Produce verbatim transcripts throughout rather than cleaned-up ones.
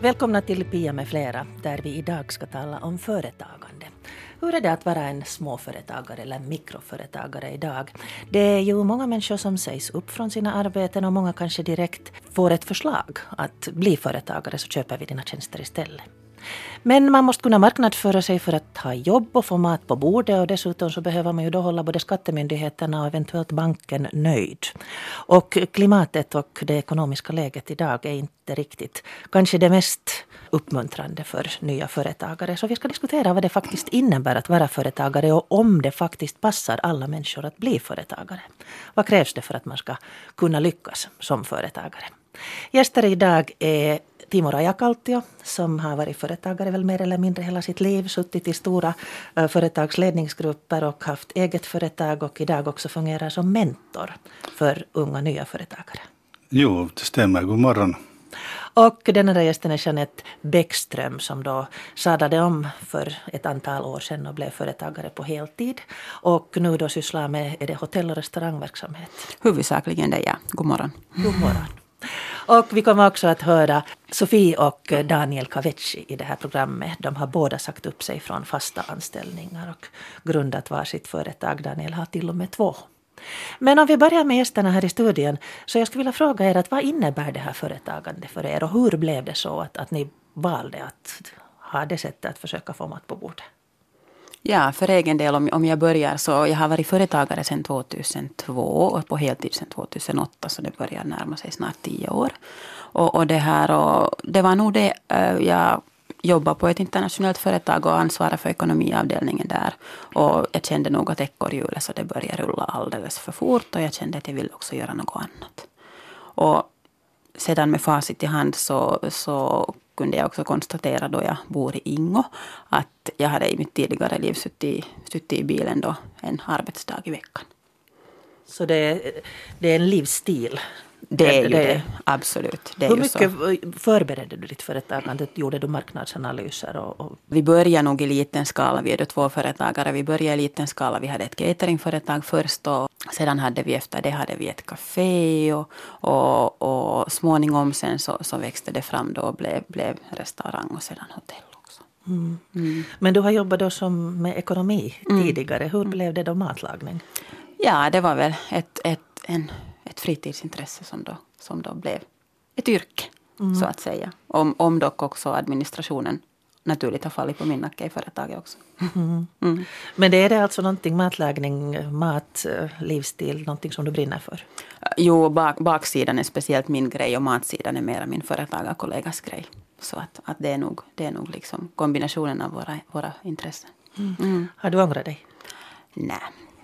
Välkomna till Pia med flera, där vi idag ska tala om företagande. Hur är det att vara en småföretagare eller mikroföretagare idag? Det är ju många människor som sägs upp från sina arbeten och många kanske direkt får ett förslag att bli företagare, så köper vi dina tjänster istället. Men man måste kunna marknadsföra sig för att ha jobb och få mat på bordet, och dessutom så behöver man ju då hålla både skattemyndigheterna och eventuellt banken nöjd. Och klimatet och det ekonomiska läget idag är inte riktigt kanske det mest uppmuntrande för nya företagare. Så vi ska diskutera vad det faktiskt innebär att vara företagare och om det faktiskt passar alla människor att bli företagare. Vad krävs det för att man ska kunna lyckas som företagare? Gäster idag är Timo Rajakaltio, som har varit företagare väl mer eller mindre hela sitt liv, suttit i stora uh, företagsledningsgrupper och haft eget företag och idag också fungerar som mentor för unga nya företagare. Jo, det stämmer. God morgon. Och den andra gästen är Jeanette Bäckström, som då sadlade om för ett antal år sedan och blev företagare på heltid. Och nu då sysslar med är det hotell- och restaurangverksamhet. Huvudsakligen det, ja. God morgon. God morgon. Och vi kommer också att höra Sofie och Daniel Kavecci i det här programmet. De har båda sagt upp sig från fasta anställningar och grundat varsitt företag. Daniel har till och med två. Men om vi börjar med gästerna här i studien, så jag skulle vilja fråga er att vad innebär det här företagande för er och hur blev det så att, att ni valde att ha det sättet att försöka få mat på bordet? Ja, för egen del om, om jag börjar så jag har varit företagare sedan tvåtusentvå och på heltid sedan tvåtusenåtta, så det börjar närma sig snart tio år. Och, och det här och det var nog det, jag jobbade på ett internationellt företag och ansvarade för ekonomiavdelningen där. Och jag kände nog att ekorrhjulet så det började rulla alldeles för fort, och jag kände att jag ville också göra något annat. Och sedan med facit i hand så, så kunde jag också konstatera då jag bor i Ingo att jag hade i mitt tidigare liv suttit, suttit i bilen då en arbetsdag i veckan. Så det är, det är en livsstil? Det är ju det, det. Absolut. Det är Hur ju mycket så. Förberedde du ditt företagande? Gjorde du marknadsanalyser? Och, och... Vi började nog i liten skala. Vi är då två företagare. Vi började i liten skala. Vi hade ett cateringföretag först och sedan hade vi efter det hade vi ett café och, och, och småningom sen så, så växte det fram då och blev, blev restaurang och sedan hotell också. Mm. Mm. Men du har jobbat då som med ekonomi Mm. tidigare. Hur blev det då matlagning? Ja, det var väl ett, ett, en, ett fritidsintresse som då, som då blev ett yrke, mm. så att säga. Om, om dock också administrationen naturligt har fallit på min nacke i företaget också. Mm. Mm. Men det är det alltså någonting, matlagning, mat, livsstil, någonting som du brinner för? Jo, bak, baksidan är speciellt min grej och matsidan är mera min företagarkollegas grej. Så att, att det är nog, det är nog liksom kombinationen av våra, våra intressen. Mm. Mm. Har du ångrat dig? Nej.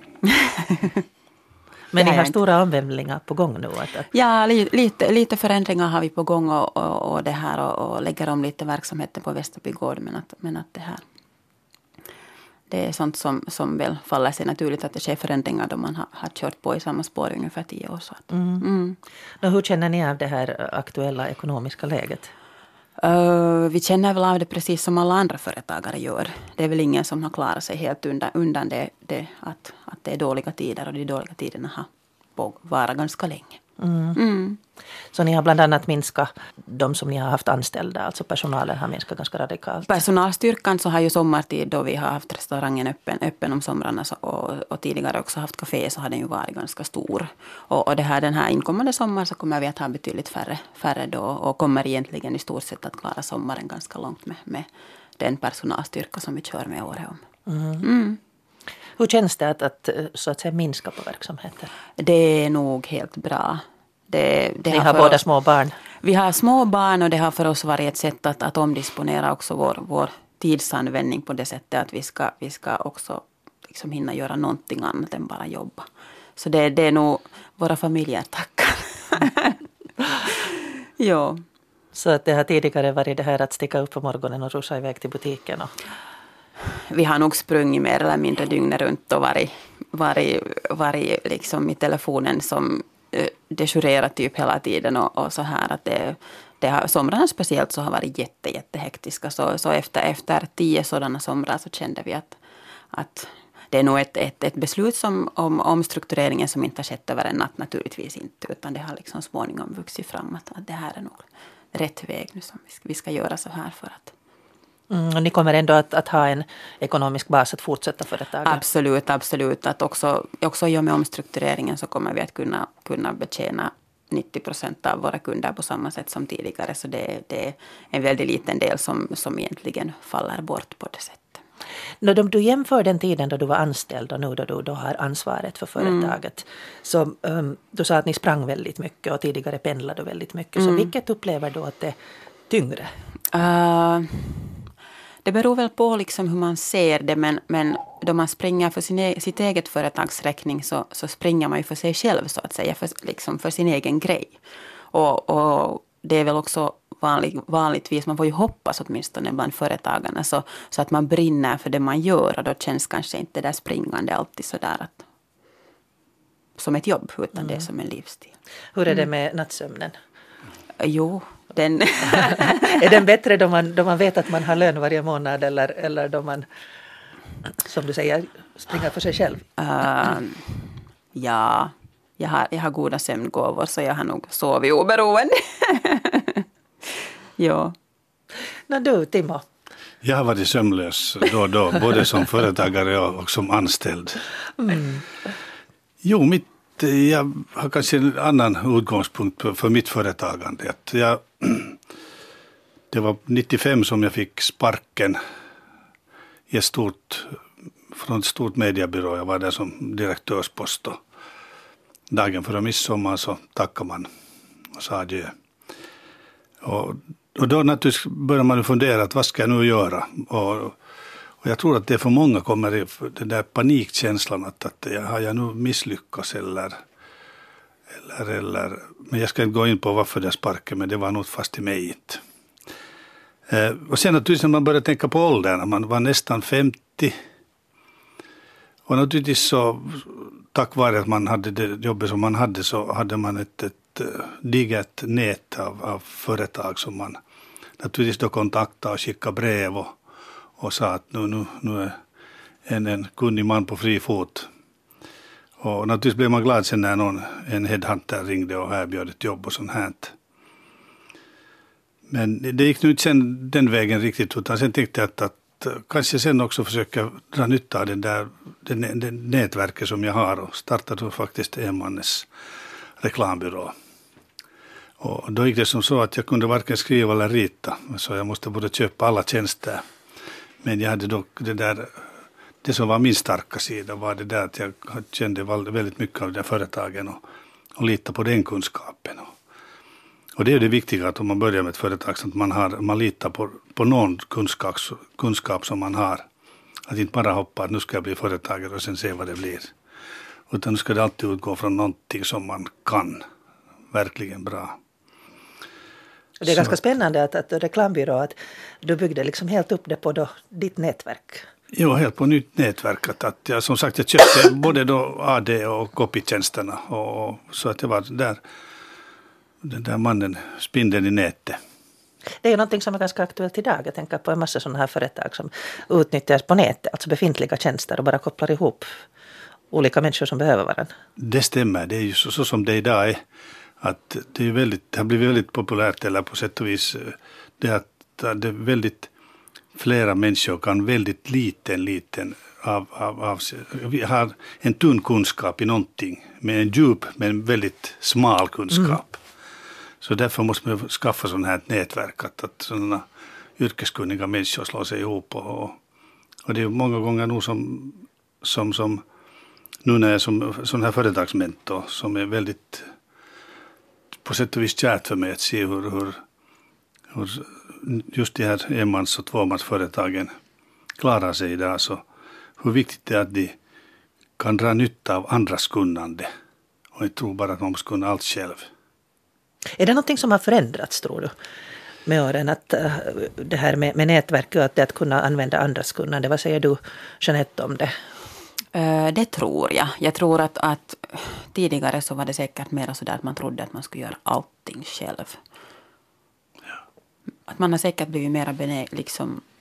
Men ni har inte. stora omvälvningar på gång nu? Att, att... Ja, li, lite, lite förändringar har vi på gång och, och, och det här och, och lägger om lite verksamheten på Västerby gård, men att, men att det här det är sånt som, som väl faller sig naturligt att det sker förändringar då man har, har kört på i samma spår i ungefär tio år. Så att, mm. Mm. Nå, hur känner ni av det här aktuella ekonomiska läget? Uh, vi känner väl av det precis som alla andra företagare gör. Det är väl ingen som har klarat sig helt undan, undan det, det att, att det är dåliga tider, och de dåliga tiderna har varit ganska länge. Mm. Mm. Så ni har bland annat minskat de som ni har haft anställda, alltså personalen har minskat ganska radikalt? Personalstyrkan så har ju sommartid då vi har haft restaurangen öppen, öppen om somrarna så, och, och tidigare också haft café, så har den ju varit ganska stor. Och, och det här, den här inkommande sommar så kommer vi att ha betydligt färre, färre då och kommer egentligen i stort sett att klara sommaren ganska långt med, med den personalstyrka som vi kör med året om. Mm. Mm. Hur känns det att, att, så att säga, minska på verksamheten? Det är nog helt bra. Det, det Ni har, har båda oss, små barn? Vi har små barn och det har för oss varit ett sätt att, att omdisponera också vår, vår tidsanvändning på det sättet att vi ska, vi ska också liksom hinna göra någonting annat än bara jobba. Så det, det är nog våra familjer tackar. Jo. Så att det har tidigare varit det här att sticka upp på morgonen och rusa iväg till butiken? Och... Vi har nog sprungit mer eller mindre dygnet runt och varit, varit, varit liksom i telefonen som dejurerat typ hela tiden och, och så här att det, det har, somrarna speciellt så har varit jätte, jättehektiska så, så efter, efter tio sådana somrar så kände vi att, att det är nog ett, ett, ett beslut som, om omstruktureringen som inte har skett över en natt naturligtvis inte, utan det har liksom småningom vuxit fram att, att det här är nog rätt väg nu som vi ska, vi ska göra så här för att. Mm, och ni kommer ändå att, att ha en ekonomisk bas att fortsätta företaget? Absolut, absolut. Att också, också i och med omstruktureringen så kommer vi att kunna, kunna betjäna nittio procent av våra kunder på samma sätt som tidigare. Så det, det är en väldigt liten del som, som egentligen faller bort på det sättet. När du jämför den tiden då du var anställd och nu då du då har ansvaret för företaget. Mm. Så um, du sa att ni sprang väldigt mycket och tidigare pendlade väldigt mycket. Mm. Så vilket upplever du att det är tyngre? Uh, det beror väl på liksom hur man ser det. Men, men då man springer för sin e- sitt eget företagsräkning så, så springer man ju för sig själv så att säga. För, liksom för sin egen grej. Och, och det är väl också vanlig, vanligtvis, man får ju hoppas åtminstone bland företagarna så, så att man brinner för det man gör och då känns kanske inte det där springande alltid sådär att, som ett jobb utan mm. det är som en livsstil. Hur är det med nattsömnen? Jo, den... är den bättre då man, då man vet att man har lön varje månad eller, eller då man, som du säger, springer för sig själv? Uh, ja, jag har, jag har goda sömngåvor så jag har nog sovit oberoende. Ja. När du, Timo? Jag har varit sömnlös då och då, både som företagare och som anställd. Mm. Jo, mitt, jag har kanske en annan utgångspunkt för mitt företagande. Att jag, det var nittiofem som jag fick sparken i ett stort, från ett stort mediebyrå. Jag var där som direktörspost och dagen före midsommar så tackade man och sa adjö. Och, och då naturligtvis börjar man fundera att vad ska jag nu göra? Och, och jag tror att det för många kommer i den där panikkänslan att, att jag, har jag nu misslyckats eller, eller, eller, men jag ska inte gå in på varför det sparken, men det var nog fast i mig inte. Eh, och sen naturligtvis när man börjar tänka på åldern, när man var nästan femtio och naturligtvis så tack vare att man hade det jobbet som man hade så hade man ett, ett digert nät av, av företag som man naturligtvis då kontaktade och skickade brev och, och sa att nu, nu, nu är en, en kunnig man på fri fot. Och naturligtvis blev man glad sen när någon, en headhunter ringde och erbjöd ett jobb och sånt här. Men det gick nu inte sen den vägen riktigt utan sen tänkte jag att, att kanske sen också försöka dra nytta av den där, den, den nätverket som jag har och startade då faktiskt enmannes reklambyrå. Och då gick det som så att jag kunde varken skriva eller rita. Så jag måste både köpa alla tjänster. Men jag hade dock det där, det som var min starka sida var det där att jag kände väldigt mycket av de företagen och, och litade på den kunskapen. Och, och det är det viktiga att om man börjar med ett företag så att man, har, man litar på, på någon kunskap, kunskap som man har. Att inte bara hoppa att nu ska jag bli företagare och sen se vad det blir. Utan nu ska det alltid utgå från någonting som man kan verkligen bra. Och det är så. Ganska spännande att, att reklambyrå, att du byggde liksom helt upp det på då, ditt nätverk. Jo, helt på nytt nätverk. Att, att jag, som sagt, jag köpte både då A D och copytjänsterna. Och, och, så att jag var där, den där mannen, spindeln i nätet. Det är ju någonting som är ganska aktuellt idag. Jag tänker på en massa sådana här företag som utnyttjas på nätet, alltså befintliga tjänster och bara kopplar ihop olika människor som behöver varandra. Det stämmer, det är ju så, så som det idag är. Att det, är väldigt, det har blivit väldigt populärt, eller på sätt och vis det att det är väldigt flera människor kan väldigt liten, liten av, av, av vi har en tunn kunskap i någonting, med en djup men väldigt smal kunskap. Mm. Så därför måste man skaffa sådana här nätverk, att, att sådana yrkeskunniga människor slår sig ihop. Och, och det är många gånger nog som, som, som nu när jag är som sån här företagsmentor som är väldigt på sätt och vis kärt för mig att se hur, hur, hur just de här enmans- och tvåmansföretagen klarar sig idag. Så hur viktigt det är att de kan dra nytta av andras kunnande och inte tro bara att man måste kunna allt själv. Är det någonting som har förändrats, tror du, med åren? Att uh, det här med, med nätverk och att, det att kunna använda andras kunnande. Vad säger du, Jeanette, om det? Uh, det tror jag. Jag tror att, att tidigare så var det säkert mer så där att man trodde att man skulle göra allting själv. Ja. Att man har säkert blivit mer benä- liksom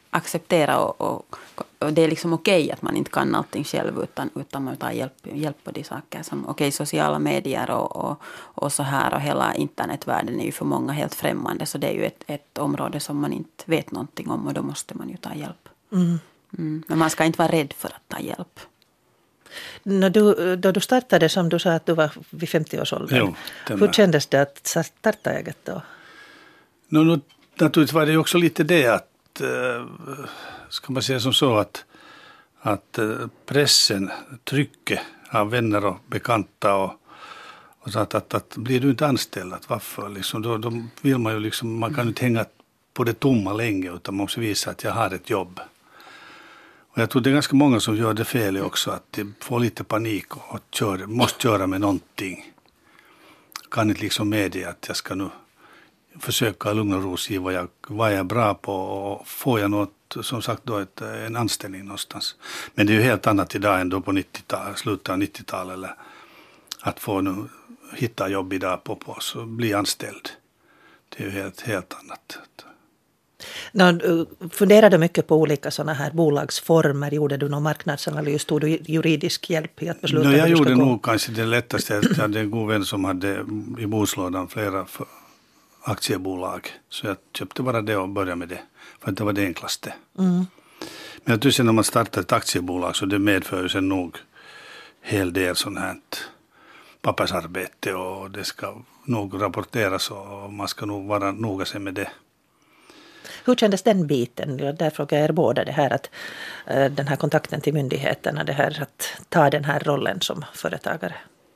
acceptera och, och, och det är liksom okej att man inte kan allting själv utan, utan man tar hjälp, hjälp på de saker som okej, okay, sociala medier och, och, och så här och hela internetvärlden är ju för många helt främmande, så det är ju ett, ett område som man inte vet någonting om och då måste man ju ta hjälp. Mm. Mm. Men man ska inte vara rädd för att ta hjälp. När du, då du startade, som du sa att du var vid femtio-årsåldern, hur kändes det att starta eget då? No, no, naturligtvis var det ju också lite det att, äh, ska man säga som så att, att äh, pressen, trycket av vänner och bekanta och, och så att, att, att blir du inte anställd, att varför liksom, då, då vill man ju liksom, man kan ju inte hänga på det tomma länge utan man måste visa att jag har ett jobb. Och jag tror det är ganska många som gör det fel också, att de får lite panik och, och kör, måste köra med någonting. Kan inte liksom medge att jag ska nu försöka lugna och ro sig vad jag, vad jag är bra på och får jag något, som sagt då ett, en anställning någonstans. Men det är ju helt annat idag än då på nittiotalet, slutet av nittiotalet eller att få nu hitta jobb idag på, på så bli anställd. Det är ju helt, helt annat. No, funderade mycket på olika sådana här bolagsformer. Gjorde du någon marknadsanalys? Tog du juridisk hjälp i att besluta? No, jag gjorde nog gå? kanske det lättaste. Jag hade en god vän som hade i boslådan flera aktiebolag. Så jag köpte bara det och började med det. För det var det enklaste. Mm. Men jag tycker när man startar ett aktiebolag så det medför ju sen nog hel del sånt här pappersarbete och det ska nog rapporteras och man ska nog vara noga sig med det. Hur kändes den biten? Där frågar jag er båda det här att uh, den här kontakten till myndigheterna, det här att ta den här rollen som företagare.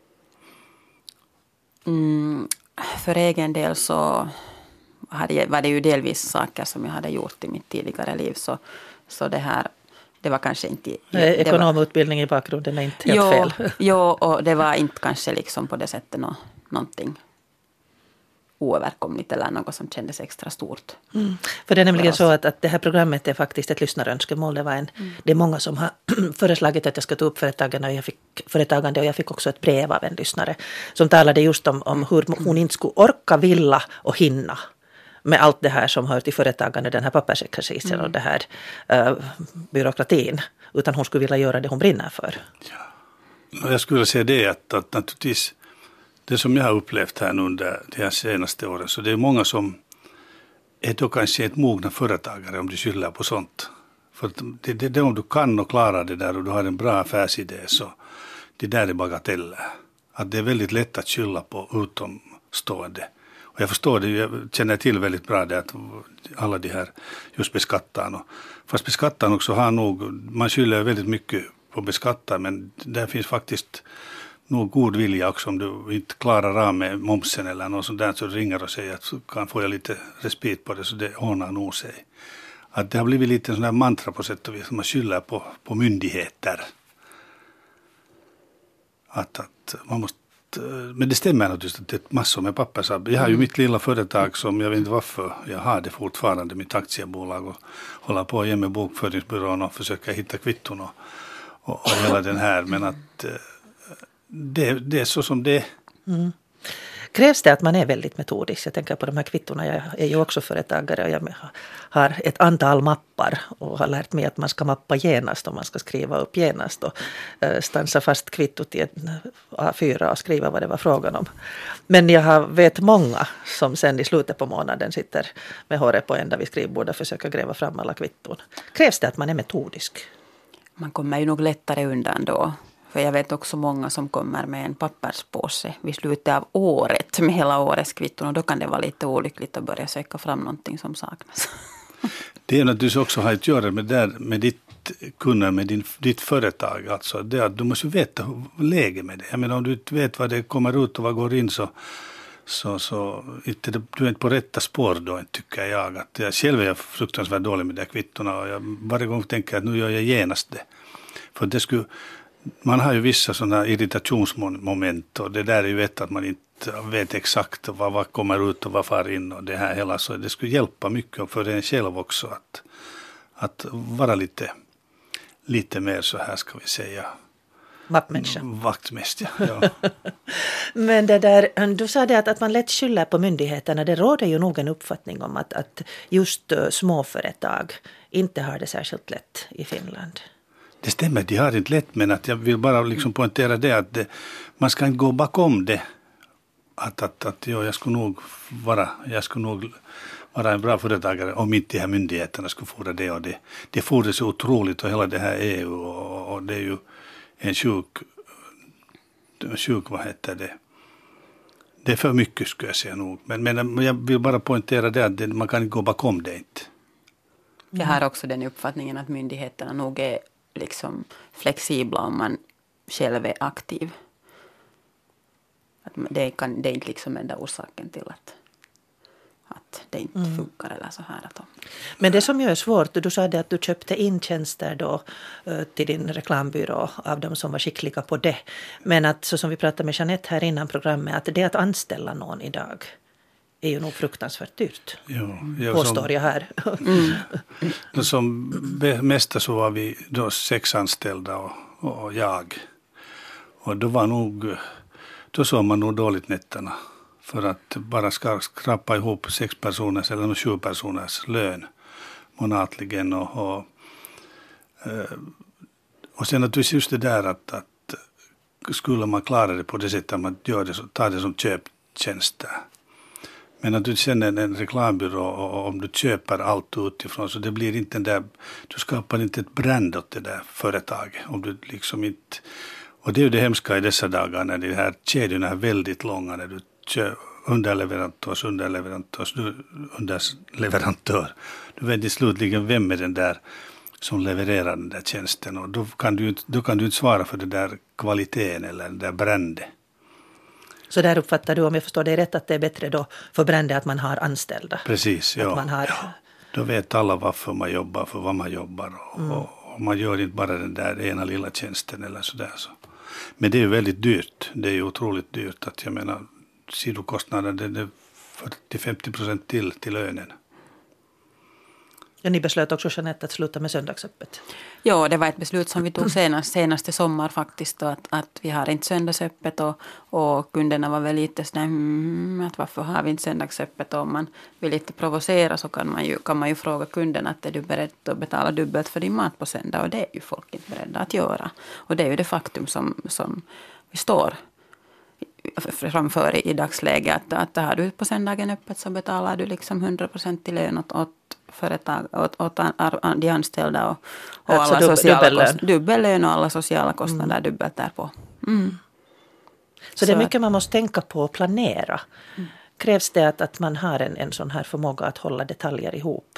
Mm, för egen del så hade, var det ju delvis saker som jag hade gjort i mitt tidigare liv så, så det här det var kanske inte... Ekonomutbildning var, i bakgrunden är inte helt jo, fel. Jo, och det var inte kanske liksom på det sättet no, någonting oöverkomligt eller något som kändes extra stort. Mm. För det är nämligen så att, att det här programmet är faktiskt ett lyssnarönskemål. Det, var en, mm. det är många som har föreslagit att jag ska ta upp företagande och, jag fick, företagande och jag fick också ett brev av en lyssnare som talade just om, om hur hon inte skulle orka, vilja och hinna med allt det här som hör till företagande, den här pappersexercisen mm. och det här uh, byråkratin, utan hon skulle vilja göra det hon brinner för. Ja. Jag skulle säga det att, att naturligtvis det som jag har upplevt här under de här senaste åren, så det är många som är då kanske ett mogna företagare om du skyller på sånt. För det, det, det om du kan och klarar det där och du har en bra affärsidé så det där är bagateller. Att det är väldigt lätt att skylla på utomstående. Och jag förstår det, jag känner till väldigt bra det att alla de här just beskattarna. Fast beskattarna också har nog, man skyller väldigt mycket på beskattare men där finns faktiskt nog god vilja också om du inte klarar av med momsen eller något sånt där så ringer och säger att kan få jag lite respit på det så det ordnar nog sig. Att det har blivit lite en sån här mantra på sätt och vis som man skyller på, på myndigheter. Att, att man måste, men det stämmer naturligtvis att det är massor med pappersarbete. Jag har ju mitt lilla företag som jag vet inte varför jag har det fortfarande, mitt aktiebolag och håller på igen med bokföringsbyrån och försöker hitta kvitton och, och, och hela den här men att Det, det är så som det är. Mm. Krävs det att man är väldigt metodisk? Jag tänker på de här kvittorna. Jag är ju också företagare och jag har ett antal mappar och har lärt mig att man ska mappa genast och man ska skriva upp genast och stansa fast kvittot i en A fyra och skriva vad det var frågan om. Men jag har, vet många som sen i slutet på månaden sitter med håret på ända vid skrivbordet och försöker gräva fram alla kvitton. Krävs det att man är metodisk? Man kommer ju nog lättare undan då. För jag vet också många som kommer med en papperspåse vid slutet av året med hela årets kvitton och då kan det vara lite olyckligt att börja söka fram någonting som saknas. Det är naturligtvis också har att göra med, där, med ditt kunder, med din, ditt företag. Alltså det att du måste veta läget med det. Jag menar om du inte vet vad det kommer ut och vad går in så, så, så inte, du är inte på rätta spår då tycker jag. Att jag själv är fruktansvärt dålig med de kvittorna och jag varje gång tänker att nu gör jag genast det. För det skulle... Man har ju vissa sådana irritationsmoment och det där är ju ett att man inte vet exakt vad, vad kommer ut och vad far in och det här hela så det skulle hjälpa mycket för en själv också att, att vara lite, lite mer så här ska vi säga Vaktmänniska. Vaktmäst, ja. ja. Men det där, du sa det att, att man lätt skyller på myndigheterna. Det råder ju nog en uppfattning om att, att just uh, småföretag inte har det särskilt lätt i Finland. Det stämmer, de har inte lätt, men att jag vill bara liksom poängtera det att det, man ska inte gå bakom det. Att, att, att jo, jag skulle nog vara, jag skulle nog vara en bra företagare om inte de här myndigheterna skulle fordra det och det. Det fordrar så otroligt och hela det här E U och, och det är ju en sjuk, sjuk, vad heter det? Det är för mycket skulle jag säga nog. Men, men jag vill bara poängtera det att det, man kan inte gå bakom det inte. Jag har också den uppfattningen att myndigheterna nog är liksom flexibla om man själv är aktiv. Att det, kan, det är inte liksom enda orsaken till att, att det inte mm. funkar eller så här. Att de... Men det som ju är svårt, du sa det att du köpte in tjänster då till din reklambyrå av de som var skickliga på det. Men att så som vi pratade med Jeanette här innan programmet, att det att anställa någon idag är ju nog fruktansvärt dyrt. Jo, jo, påstår som, jag här. Mm. Som mesta så var vi då sex anställda och, och jag. Och då var nog, då såg man nog dåligt nätterna. För att bara skrapa ihop sex personers eller sju personers lön månatligen. Och, och, och sen naturligtvis just det där att, att skulle man klara det på det sättet att man gör det, så tar det som köptjänster. Men att du känner en reklambyrå och om du köper allt utifrån så det blir inte den där, du skapar inte ett brand åt det där företaget. Om du liksom inte, och det är ju det hemska i dessa dagar när de här kedjorna är väldigt långa, när du kör underleverantörs, underleverantörs, underleverantör. Du vet slutligen vem är den där som levererar den där tjänsten och då kan du, då kan du inte svara för det där kvaliteten eller den där branden. Så där uppfattar du, om jag förstår det rätt, att det är bättre då för branden att man har anställda. Precis, ja. Att man har... ja. Då vet alla varför man jobbar, för vad man jobbar. Och, mm. och, och man gör inte bara den där ena lilla tjänsten eller sådär. Så. Men det är ju väldigt dyrt. Det är ju otroligt dyrt. Att jag menar, sidokostnaden det är fyrtio till femtio procent till, till lönen. Ja, ni beslöt också, Jeanette, att sluta med söndagsöppet. Ja, det var ett beslut som vi tog senast, senaste sommar faktiskt. Då, att, att vi har inte söndagsöppet och, och kunderna var väl lite sådär, mm, att varför har vi inte söndagsöppet? Och om man vill lite provocera så kan man ju, kan man ju fråga kunden att är du beredd att betala dubbelt för din mat på söndag? Och det är ju folk inte beredda att göra. Och det är ju det faktum som, som vi står framför i, i dagsläget. Att, att har du på söndagen öppet så betalar du liksom hundra procent i lön åt, åt företag, åt, åt de anställda och, och alltså alla dub, sociala dubbellön. Kost, dubbellön och alla sociala kostnader mm. dubbelt därpå. Mm. Så, så det är mycket man måste tänka på och planera. Mm. Krävs det att, att man har en, en sån här förmåga att hålla detaljer ihop?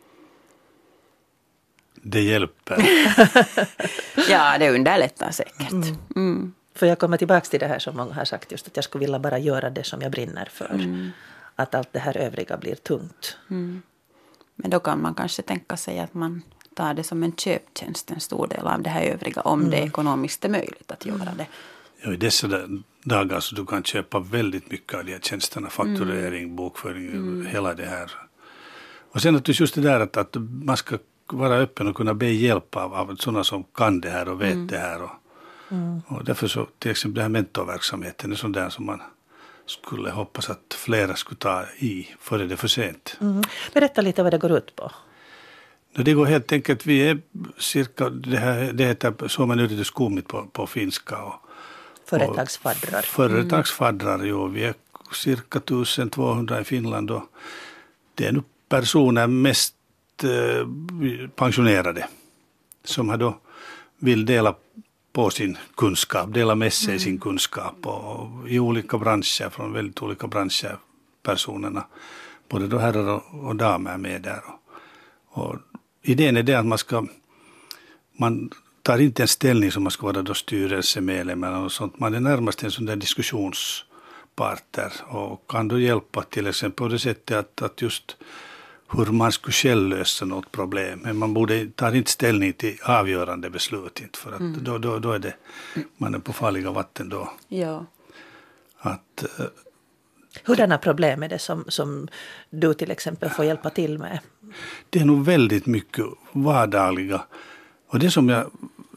Det hjälper. Ja, det underlättar säkert. Mm. Mm. För jag kommer tillbaka till det här som många har sagt, just att jag skulle vilja bara göra det som jag brinner för. Mm. Att allt det här övriga blir tungt. Mm. Men då kan man kanske tänka sig att man tar det som en köptjänst, en stor del av det här övriga, om mm. det ekonomiskt är möjligt att göra det. Ja, i dessa dagar så du kan köpa väldigt mycket av de här tjänsterna, fakturering, mm. bokföring, mm. hela det här. Och sen att just det där att, att man ska vara öppen och kunna be hjälp av, av sådana som kan det här och vet mm. det här. Och, mm. och därför så till exempel den här mentorverksamheten är sån där som man skulle hoppas att flera skulle ta i före det är för sent. Mm. Berätta lite vad det går ut på. Det går helt enkelt, vi är cirka, det, här, det heter Suomen yrityskummit på, på finska. Och, företagsfaddrar. Och företagsfaddrar, mm. jo. Vi är cirka tjugotvåhundra i Finland och det är nu personer mest eh, pensionerade som har då vill dela på sin kunskap, dela med sig mm. sin kunskap och, och i olika branscher, från väldigt olika branscher, personerna, både då herrar och, och damer med där. Och, och idén är det att man ska, man tar inte en ställning som man ska vara då styrelsemedlem eller något sånt, man är närmast en sån där diskussionspartner och kan då hjälpa till exempel på det sättet att, att just hur man skulle själv lösa något problem. Men man borde ta inte ställning till avgörande beslut. Inte, för att mm. då, då, då är det, man är på farliga vatten då. Ja. Att, uh, Hurdana problem är det som, som du till exempel får hjälpa till med? Det är nog väldigt mycket vardagliga. Och det som jag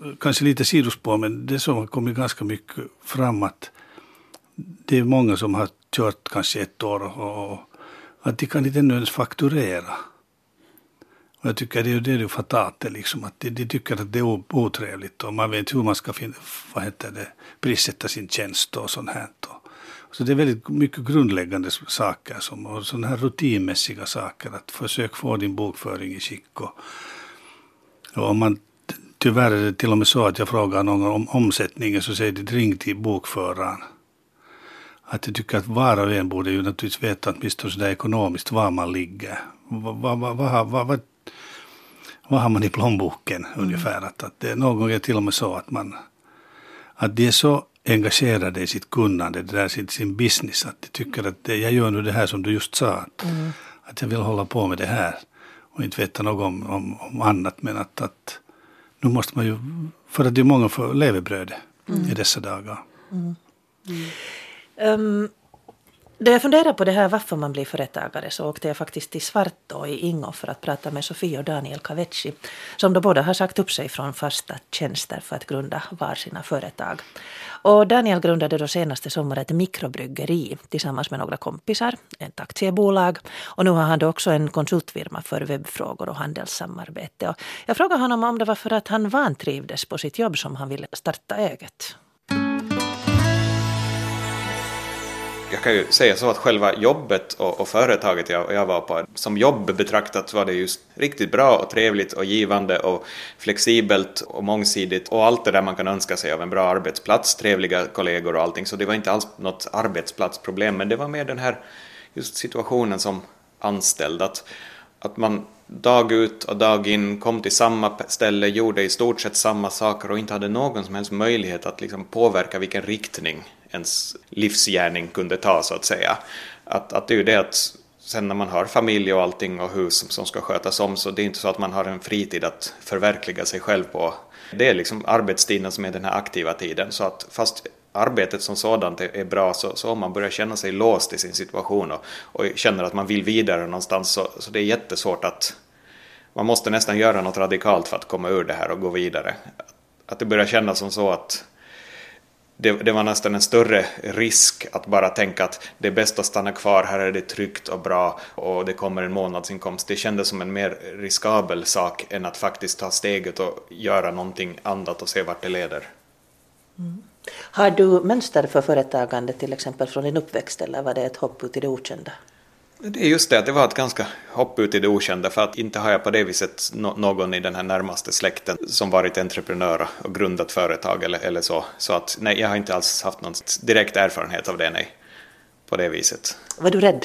kanske lite sidospår, men det som har kommit ganska mycket fram att det är många som har kört kanske ett år och, och att de kan inte ännu ens fakturera. Och jag tycker det är ju det är ju fatalt liksom, att de, de tycker att det är otrevligt och man vet hur man ska finna, vad heter det, prissätta sin tjänst och sånt här. Så det är väldigt mycket grundläggande saker som, och sådana här rutinmässiga saker, att försöka få din bokföring i skick. Och, och om man, tyvärr är det till och med så att jag frågar någon om omsättningen så säger det ring till bokföraren. Att jag tycker att var och en borde ju naturligtvis veta att åtminstone sådär ekonomiskt var man ligger. Vad, vad, vad, vad, vad, vad, vad har man i plånboken mm. ungefär? Att, att det är någon gång till och med så att man att det är så engagerade i sitt kunnande, det där sin, sin business, att de tycker att det, jag gör nu det här som du just sa, att, mm. att jag vill hålla på med det här och inte veta något om, om, om annat, men att, att nu måste man ju, för att det är många för levebröd mm. i dessa dagar. Mm. Mm. Um, då jag funderar på det här varför man blir företagare så åkte jag faktiskt till Svartå i Ingo för att prata med Sofie och Daniel Kavecci som då båda har sagt upp sig från fasta tjänster för att grunda var sina företag. Och Daniel grundade då senaste sommar ett mikrobryggeri tillsammans med några kompisar, ett aktiebolag, och nu har han då också en konsultfirma för webbfrågor och handelssamarbete. Och jag frågade honom om det var för att han vantrivdes på sitt jobb som han ville starta eget. Jag kan ju säga så att själva jobbet och, och företaget jag, jag var på, som jobb betraktat var det just riktigt bra och trevligt och givande och flexibelt och mångsidigt och allt det där man kan önska sig av en bra arbetsplats, trevliga kollegor och allting. Så det var inte alls något arbetsplatsproblem, men det var mer den här just situationen som anställd, att, att man dag ut och dag in kom till samma ställe, gjorde i stort sett samma saker och inte hade någon som helst möjlighet att liksom påverka vilken riktning ens livsgärning kunde ta, så att säga. Att, att det är ju det att sen när man har familj och allting och hus som, som ska skötas om, så det är inte så att man har en fritid att förverkliga sig själv på. Det är liksom arbetstiden som är den här aktiva tiden, så att fast arbetet som sådant är bra, så, så om man börjar känna sig låst i sin situation och, och känner att man vill vidare någonstans, så, så det är jättesvårt att man måste nästan göra något radikalt för att komma ur det här och gå vidare. Att det börjar kännas som så att det, det var nästan en större risk att bara tänka att det är bäst att stanna kvar, här är det tryggt och bra och det kommer en månadsinkomst. Det kändes som en mer riskabel sak än att faktiskt ta steget och göra någonting annat och se vart det leder. Mm. Har du mönster för företagande till exempel från din uppväxt, eller var det ett hopp ut i det okända? Det är just det, att det var ett ganska hopp ut i det okända, för att inte har jag på det viset någon i den här närmaste släkten som varit entreprenör och grundat företag eller, eller så. Så att nej, jag har inte alls haft någon direkt erfarenhet av det, nej, på det viset. Var du rädd?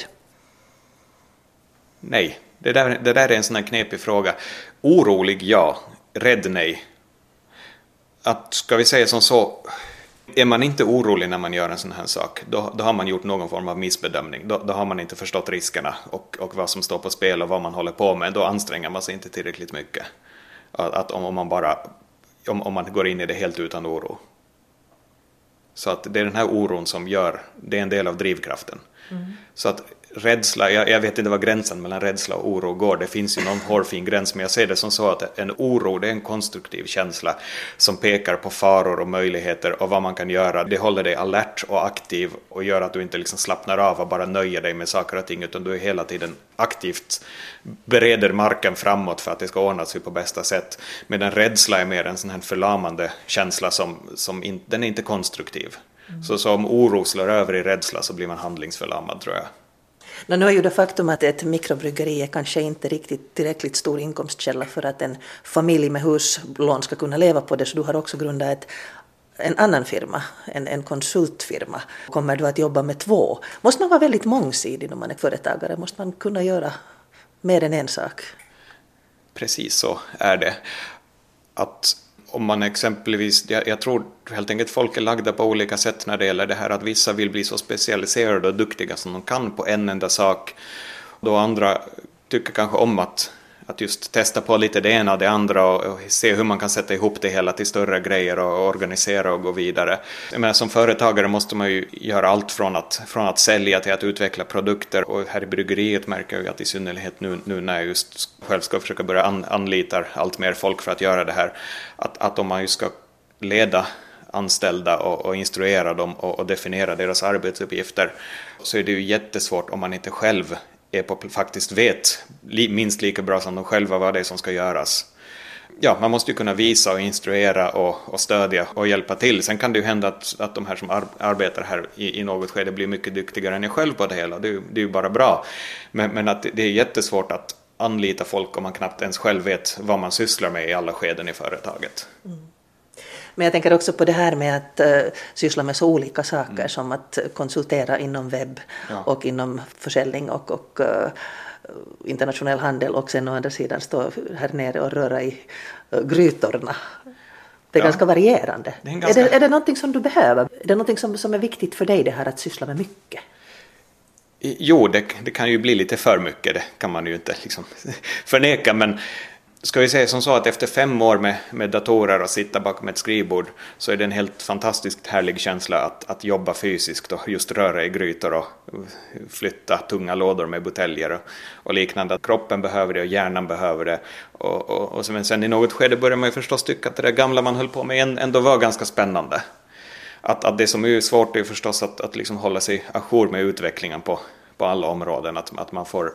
Nej, det där, det där är en sån här knepig fråga. Orolig, ja. Rädd, nej. Att, ska vi säga som så, är man inte orolig när man gör en sån här sak, då, då har man gjort någon form av missbedömning. Då, då har man inte förstått riskerna och, och vad som står på spel och vad man håller på med. Då anstränger man sig inte tillräckligt mycket. Att, att om, om, man bara, om, om man går in i det helt utan oro. Så att det är den här oron som gör, det är en del av drivkraften. Mm. Så att rädsla, jag, jag vet inte vad gränsen mellan rädsla och oro går. Det finns ju någon hårfin gräns, men jag ser det som så att en oro, det är en konstruktiv känsla som pekar på faror och möjligheter och vad man kan göra. Det håller dig alert och aktiv och gör att du inte liksom slappnar av och bara nöjer dig med saker och ting, utan du är hela tiden aktivt bereder marken framåt för att det ska ordna sig på bästa sätt. Medan rädsla är mer en sån här förlamande känsla som, som in, den är inte konstruktiv. Mm. Så, så om oro slår över i rädsla så blir man handlingsförlamad, tror jag. Nu är ju det faktum att ett mikrobryggeri är kanske inte riktigt tillräckligt stor inkomstkälla för att en familj med huslån ska kunna leva på det, så du har också grundat ett, en annan firma, en, en konsultfirma. Kommer du att jobba med två? Måste man vara väldigt mångsidig när man är företagare? Måste man kunna göra mer än en sak? Precis så är det. Att om man exempelvis, jag, jag tror helt enkelt folk är lagda på olika sätt när det gäller det här, att vissa vill bli så specialiserade och duktiga som de kan på en enda sak, då andra tycker kanske om att, att just testa på lite det ena och det andra och, och se hur man kan sätta ihop det hela till större grejer och organisera och gå vidare. Men som företagare måste man ju göra allt från att, från att sälja till att utveckla produkter, och här i bryggeriet märker jag att i synnerhet nu, nu när jag just själv ska försöka börja an, anlita allt mer folk för att göra det här, att, att om man ju ska leda anställda och, och instruera dem och, och definiera deras arbetsuppgifter, så är det ju jättesvårt om man inte själv är på, faktiskt vet li, minst lika bra som de själva vad det är som ska göras. Ja, man måste ju kunna visa och instruera och, och stödja och hjälpa till. Sen kan det ju hända att, att de här som ar, arbetar här i, i något skede blir mycket duktigare än jag själv på det hela. Det är, det är ju bara bra. Men, men att det är jättesvårt att anlita folk om man knappt ens själv vet vad man sysslar med i alla skeden i företaget. Mm. Men jag tänker också på det här med att uh, syssla med så olika saker mm. som att konsultera inom webb ja. och inom försäljning och, och uh, internationell handel, och sen å andra sidan stå här nere och röra i uh, grytorna. Det är ja. ganska varierande. Det är, ganska... Är, det, är det någonting som du behöver? Är det någonting som, som är viktigt för dig, det här att syssla med mycket? Jo, det, det kan ju bli lite för mycket, det kan man ju inte liksom förneka, men ska vi säga som så att efter fem år med, med datorer och sitta bakom ett skrivbord, så är det en helt fantastiskt härlig känsla att, att jobba fysiskt och just röra i grytor och flytta tunga lådor med buteljer och, och liknande. Att kroppen behöver det och hjärnan behöver det. Och, och, och sen, sen i något skede börjar man ju förstås tycka att det där gamla man höll på med ändå var ganska spännande. Att, att det som är svårt är förstås att, att liksom hålla sig ajour med utvecklingen på, på alla områden. Att, att man får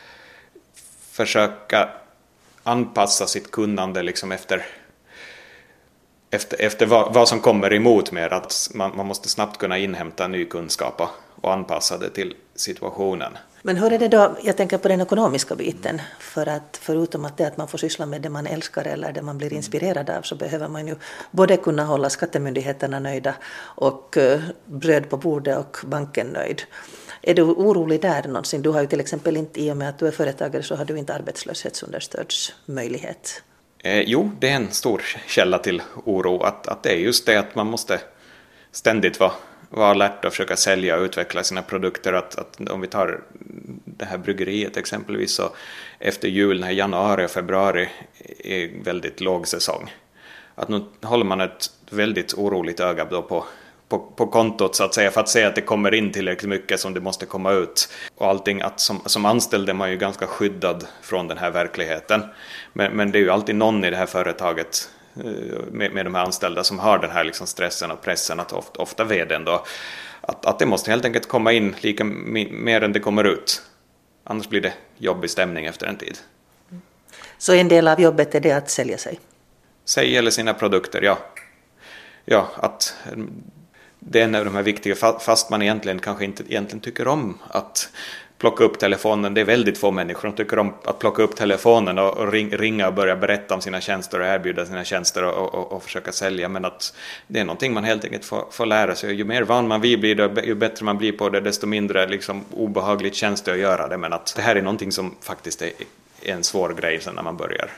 försöka anpassa sitt kunnande liksom efter, efter, efter vad, vad som kommer emot med, att man, man måste snabbt kunna inhämta ny kunskap och, och anpassa det till situationen. Men hur är det då, jag tänker på den ekonomiska biten, för att förutom att det att man får syssla med det man älskar eller det man blir inspirerad av, så behöver man ju både kunna hålla skattemyndigheterna nöjda och uh, bröd på bordet och banken nöjd. Är du orolig där någonsin? Du har ju till exempel inte, i och med att du är företagare, så har du inte arbetslöshetsunderstödsmöjlighet. Eh, jo, det är en stor källa till oro. Att, att det är just det att man måste ständigt vara, vara alert och försöka sälja och utveckla sina produkter. Att, att om vi tar det här bryggeriet exempelvis, så efter jul, när januari och februari är väldigt låg säsong. Att nu håller man ett väldigt oroligt öga då på På, på kontot så att säga, för att se att det kommer in tillräckligt mycket som det måste komma ut. Och allting, att som, som anställd är man ju ganska skyddad från den här verkligheten. Men, men det är ju alltid någon i det här företaget med, med de här anställda som har den här liksom stressen och pressen, att ofta, ofta vdn då, att, att det måste helt enkelt komma in lika mer än det kommer ut. Annars blir det jobbig stämning efter en tid. Så en del av jobbet är det att sälja sig? Sig eller sina produkter, ja. Ja, att det är en av de här viktiga, fast man egentligen kanske inte egentligen tycker om att plocka upp telefonen. Det är väldigt få människor som tycker om att plocka upp telefonen och, och ringa och börja berätta om sina tjänster och erbjuda sina tjänster och, och, och försöka sälja. Men att det är någonting man helt enkelt får, får lära sig. Ju mer van man blir, det, ju bättre man blir på det, desto mindre liksom obehagligt känns det att göra det. Men att det här är någonting som faktiskt är, är en svår grej sen när man börjar.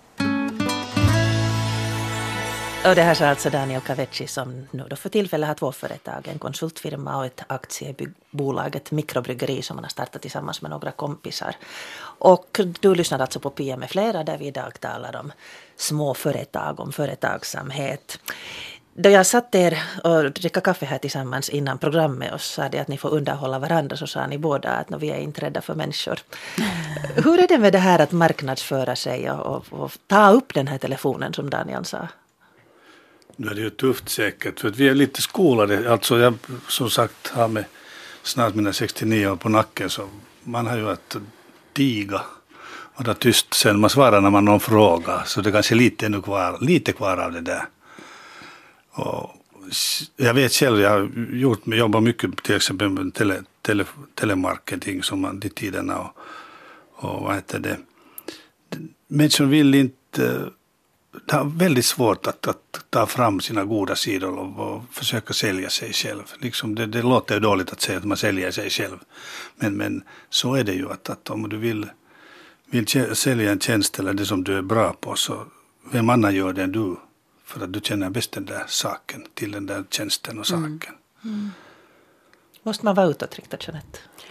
Och det här sa alltså Daniel Kavecki, som nu då för tillfället har två företag, en konsultfirma och ett aktiebolag, ett mikrobryggeri som man har startat tillsammans med några kompisar. Och du lyssnar alltså på Pia med flera, där vi idag talar om små företag, om företagsamhet. Då jag satt er och dricka kaffe här tillsammans innan programmet och sa det att ni får underhålla varandra, så sa ni båda att vi är inte rädda för människor. Hur är det med det här att marknadsföra sig och, och, och ta upp den här telefonen som Daniel sa? Nu är det ju tufft säkert, för att vi är lite skolade. Alltså jag som sagt har med snart mina sextionio år på nacken, så man har ju att diga och det tyst sen man svarar när man någon frågar. Så det är kanske lite, ännu kvar, lite kvar av det där. Och jag vet själv, jag har gjort, jobbat mycket till exempel med tele, tele, telemarketing som man i tiderna och, och vad heter det. Människor vill inte, det är väldigt svårt att, att ta fram sina goda sidor och, och försöka sälja sig själv. Liksom det, det låter ju dåligt att säga att man säljer sig själv. Men, men så är det ju att, att om du vill, vill sälja en tjänst eller det som du är bra på, så vem annan gör det än du? För att du känner bäst den där saken till den där tjänsten och saken. Mm. Mm. Måste man vara utåtriktad, Jeanette?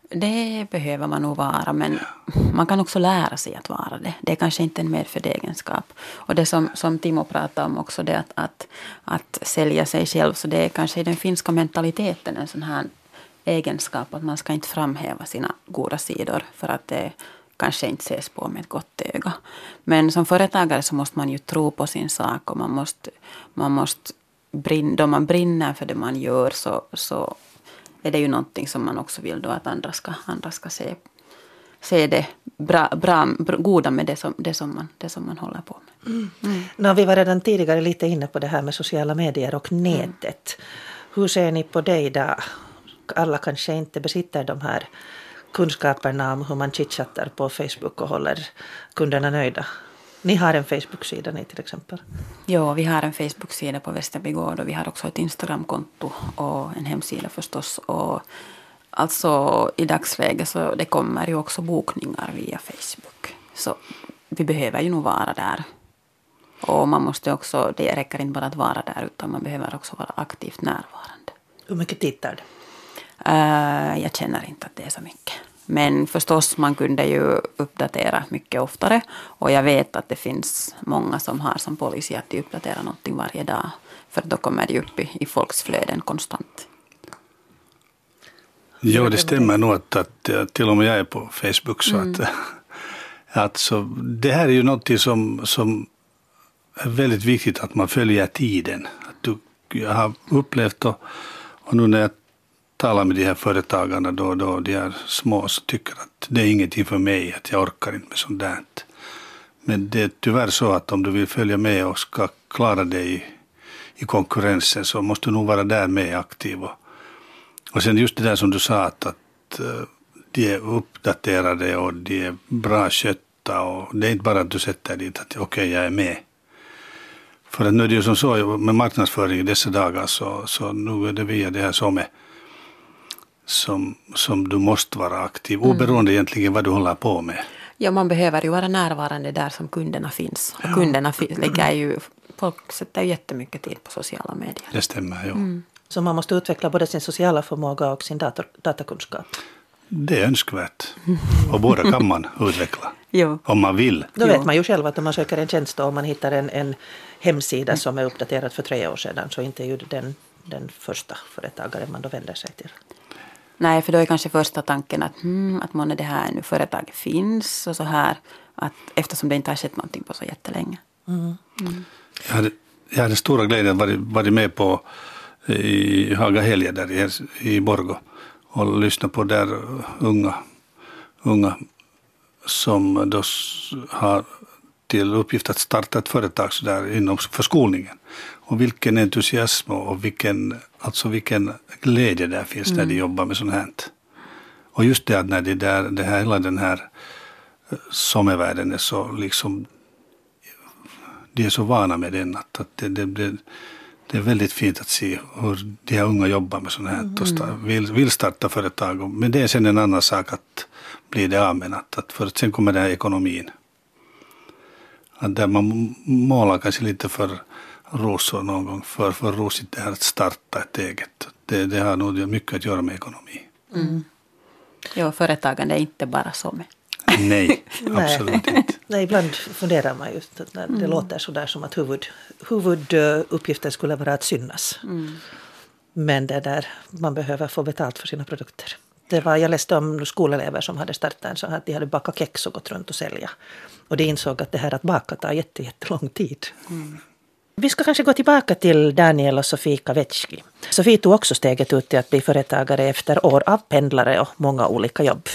Det behöver man nog vara, men man kan också lära sig att vara det. Det är kanske inte en medfödd egenskap. Och det som, som Timo pratade om också, det att, att, att sälja sig själv, så det är kanske i den finska mentaliteten en sån här egenskap att man ska inte framhäva sina goda sidor för att det kanske inte ses på med ett gott öga. Men som företagare så måste man ju tro på sin sak och man måste, man måste brinna, då man brinner för det man gör så, så är det ju någonting som man också vill då att andra ska, andra ska se, se det bra, bra, goda med det som, det, som man, det som man håller på med. Mm. Mm. No, vi var redan tidigare lite inne på det här med sociala medier och nätet. Mm. Hur ser ni på det idag? Alla kanske inte besitter de här kunskaperna om hur man chitchattar på Facebook och håller kunderna nöjda. Ni har en Facebook-sida ni till exempel? Ja, vi har en Facebook-sida på Västerbygård och vi har också ett Instagram-konto och en hemsida förstås. Och alltså i dagsläget så det kommer ju också bokningar via Facebook. Så vi behöver ju nog vara där. Och man måste också, det räcker inte bara att vara där utan man behöver också vara aktivt närvarande. Hur mycket tittar det? Uh, jag känner inte att det är så mycket. Men förstås man kunde ju uppdatera mycket oftare. Och jag vet att det finns många som har som policy att de uppdaterar någonting varje dag. För då kommer det upp i, i folks flöden konstant. Ja, det stämmer nog att, att till och med jag är på Facebook. Så mm. att, alltså, det här är ju något som, som är väldigt viktigt att man följer tiden. Att du, jag har upplevt och, och nu när jag talar med de här företagarna då, då de är små så tycker att det är ingenting för mig, att jag orkar inte med sånt där. Men det är tyvärr så att om du vill följa med och ska klara dig i, i konkurrensen så måste du nog vara där med aktiv. Och, och sen just det där som du sa att, att de är uppdaterade och de är bra skötta och det är inte bara att du sätter dit att okej okay, jag är med. För att nu är det ju som så med marknadsföring i dessa dagar så, så nu är det via det här som är Som, som du måste vara aktiv, oberoende mm. egentligen vad du håller på med. Ja, man behöver ju vara närvarande där som kunderna finns. Och ja. kunderna lägger ju, folk sätter ju jättemycket tid på sociala medier. Det stämmer, ja. Mm. Så man måste utveckla både sin sociala förmåga och sin dator, datakunskap? Det är önskvärt. Och båda kan man utveckla. Jo. Om man vill. Då vet man ju själv att om man söker en tjänst och man hittar en, en hemsida mm. som är uppdaterad för tre år sedan så inte är ju den, den första företagaren man då vänder sig till. Nej, för då är kanske första tanken att, hmm, att månne det här nu företaget finns och så här. Att, eftersom det inte har skett någonting på så jättelänge. Mm. Mm. Jag, hade, jag hade stora glädjen att varit, varit med på i Haga helger där i, i Borgå och lyssna på där unga, unga som då har till uppgift att starta ett företag så där inom förskolningen. Och vilken entusiasm och vilken, alltså vilken glädje där finns mm. när de jobbar med sånt här. Och just det att när det där, det här, hela den här sommarvärlden är så liksom, de är så vana med den att, att det, det, det, det är väldigt fint att se hur de här unga jobbar med sånt här mm. och start, vill, vill starta företag. Men det är sen en annan sak att bli det av med att, att för att sen kommer den här ekonomin. Att där man målar kanske lite för rosor någon gång, för, för rosigt det här att starta ett eget. Det, det har nog mycket att göra med ekonomi. Mm. Ja, företagande är inte bara som. Nej, absolut inte. Nej, ibland funderar man just när det mm. låter så där som att huvud, huvuduppgiften skulle vara att synas. Mm. Men det där, man behöver få betalt för sina produkter. Det var, jag läste om skolelever som hade startat en så att de hade bakat kex och gått runt och sälja. Och de insåg att det här att baka tar jätte, jättelång tid. Mm. Vi ska kanske gå tillbaka till Daniel och Sofie Kavetski. Sofie tog också steget ut till att bli företagare efter år av pendlare och många olika jobb.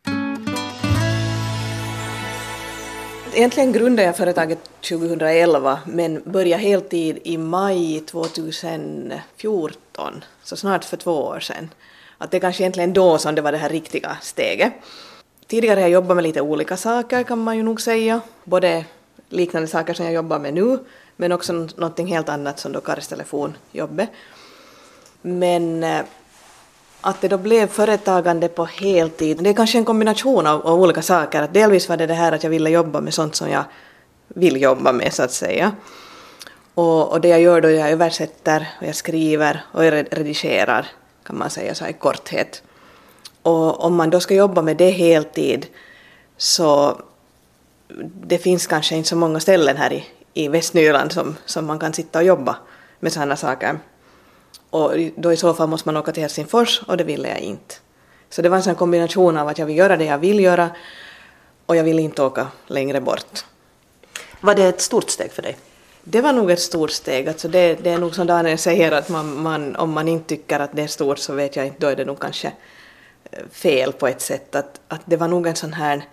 Egentligen grundade jag företaget tjugohundraelva men började heltid i maj tjugohundrafjorton, så snart för två år sedan. Att det är kanske egentligen då som det var det här riktiga steget. Tidigare har jag jobbat med lite olika saker kan man ju nog säga. Både liknande saker som jag jobbar med nu men också någonting helt annat som då karstelefonjobbet. Men att det då blev företagande på heltid, det är kanske en kombination av, av olika saker. Att delvis var det det här att jag ville jobba med sånt som jag vill jobba med så att säga. Och, och det jag gör då är jag översätter och jag skriver och jag redigerar kan man säga så här i korthet. Och om man då ska jobba med det heltid så det finns kanske inte så många ställen här i, i Västnyland som, som man kan sitta och jobba med sådana saker. Och då i så fall måste man åka till Helsingfors och det ville jag inte. Så det var en sån kombination av att jag vill göra det jag vill göra och jag vill inte åka längre bort. Var det ett stort steg för dig? Det var nog ett stort steg. Alltså det, det är nog som Daniel säger att man, man, om man inte tycker att det är stort så vet jag inte, då är det nog kanske fel på ett sätt. Att, att det var nog en sån här,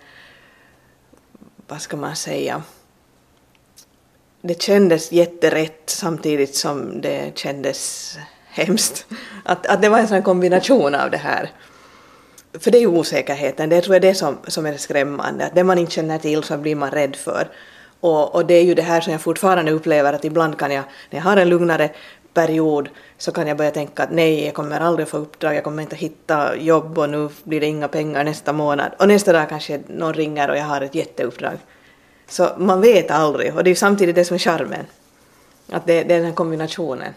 vad ska man säga, det kändes jätterätt samtidigt som det kändes hemskt. Att, att det var en sån kombination av det här. För det är ju osäkerheten, det tror jag är det som, som är skrämmande. Att det man inte känner till så blir man rädd för. Och, och det är ju det här som jag fortfarande upplever, att ibland kan jag, när jag har en lugnare period, så kan jag börja tänka att nej, jag kommer aldrig få uppdrag, jag kommer inte hitta jobb och nu blir det inga pengar nästa månad. Och nästa dag kanske någon ringer och jag har ett jätteuppdrag. Så man vet aldrig, och det är ju samtidigt det som är charmen. Att det, det är den här kombinationen.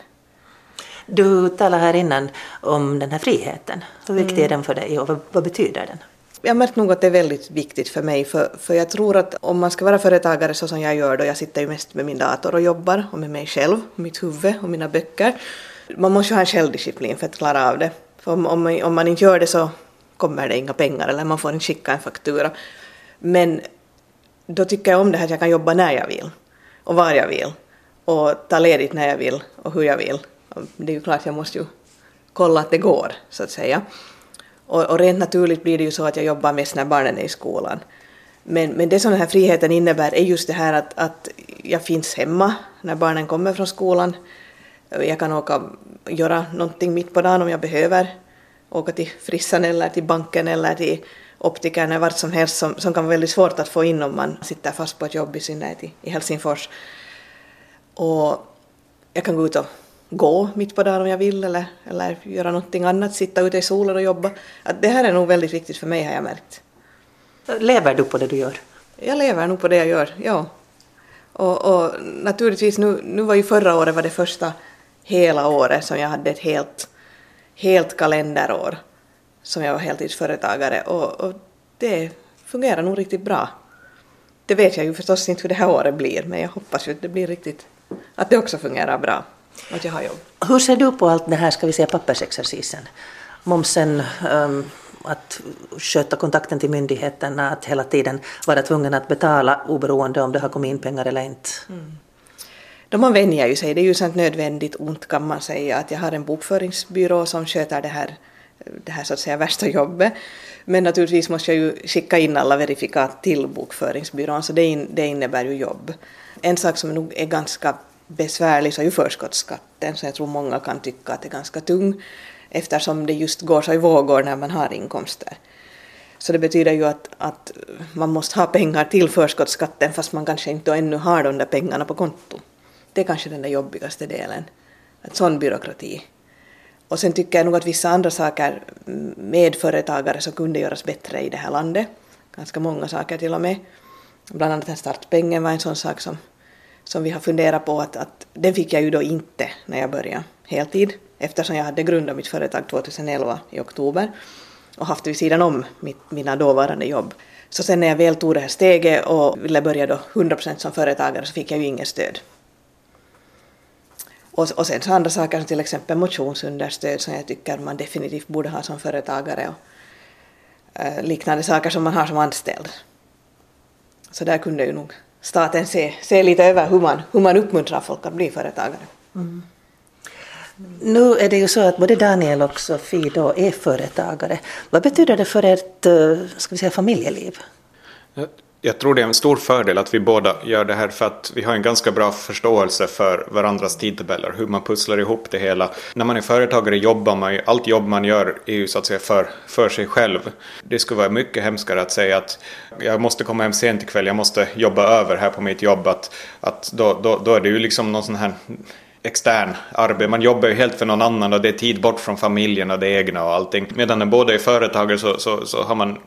Du talade här innan om den här friheten. Hur viktig mm. är den för dig och vad, vad betyder den? Jag märker nog att det är väldigt viktigt för mig. För, för jag tror att om man ska vara företagare så som jag gör då, jag sitter ju mest med min dator och jobbar och med mig själv, mitt huvud och mina böcker. Man måste ju ha en självdisciplin för att klara av det. För om, om, man, om man inte gör det så kommer det inga pengar eller man får inte skicka en faktura. Men då tycker jag om det här att jag kan jobba när jag vill och var jag vill och ta ledigt när jag vill och hur jag vill. Det är ju klart, jag måste ju kolla att det går, så att säga. Och, och rent naturligt blir det ju så att jag jobbar mest när barnen är i skolan. Men, men det som den här friheten innebär är just det här att, att jag finns hemma när barnen kommer från skolan. Jag kan åka och göra någonting mitt på dagen om jag behöver. Åka till frissan eller till banken eller till optikern eller vart som helst som, som kan vara väldigt svårt att få in om man sitter fast på ett jobb i synnerhet i, i Helsingfors. Och jag kan gå ut och gå mitt på dagen om jag vill eller, eller göra någonting annat, sitta ute i solen och jobba. Att det här är nog väldigt viktigt för mig, har jag märkt. Lever du på det du gör? Jag lever nog på det jag gör, ja. Och, och naturligtvis, nu, nu var ju förra året var det första hela året som jag hade ett helt, helt kalenderår som jag var heltidsföretagare. Och, och det fungerar nog riktigt bra. Det vet jag ju förstås inte hur det här året blir, men jag hoppas ju att det blir riktigt, att det också fungerar bra. Att jag har jobb. Hur ser du på allt det här, ska vi säga, pappersexercisen? Momsen, um, att sköta kontakten till myndigheterna, att hela tiden vara tvungen att betala oberoende om det har kommit in pengar eller inte. Mm. Då man vänjer ju sig, det är ju sånt nödvändigt ont kan man säga, att jag har en bokföringsbyrå som sköter det här, det här så att säga värsta jobbet. Men naturligtvis måste jag ju skicka in alla verifikat till bokföringsbyrån, så det, in, det innebär ju jobb. En sak som nog är ganska besvärlig så är ju förskottsskatten, så jag tror många kan tycka att det är ganska tung eftersom det just går så i vågor när man har inkomster. Så det betyder ju att, att man måste ha pengar till förskottsskatten fast man kanske inte ännu har de där pengarna på konto. Det är kanske den där jobbigaste delen, att sån byråkrati. Och sen tycker jag nog att vissa andra saker med företagare så kunde göras bättre i det här landet. Ganska många saker till och med. Bland annat den startpengen var en sån sak som som vi har funderat på att, att den fick jag ju då inte när jag började heltid, eftersom jag hade grundat mitt företag tjugoelva i oktober och haft vid sidan om mitt, mina dåvarande jobb. Så sen när jag väl tog det här steget och ville börja då hundra procent som företagare så fick jag ju ingen stöd. Och, och sen så andra saker som till exempel motionsunderstöd som jag tycker man definitivt borde ha som företagare och eh, liknande saker som man har som anställd. Så där kunde ju nog staten se, se lite över hur man, hur man uppmuntrar folk att bli företagare. Mm. Nu är det ju så att både Daniel och Sofie då är företagare. Vad betyder det för ert, ska vi säga, familjeliv? Jag, jag tror det är en stor fördel att vi båda gör det här för att vi har en ganska bra förståelse för varandras tidtabeller, hur man pusslar ihop det hela. När man är företagare jobbar man ju, allt jobb man gör är ju så att säga för, för sig själv. Det skulle vara mycket hemskare att säga att jag måste komma hem sent ikväll, jag måste jobba över här på mitt jobb. Att, att då, då, då är det ju liksom någon sån här extern arbete. Man jobbar ju helt för någon annan och det är tid bort från familjen och det egna och allting. Medan när båda är företagare så, så, så har man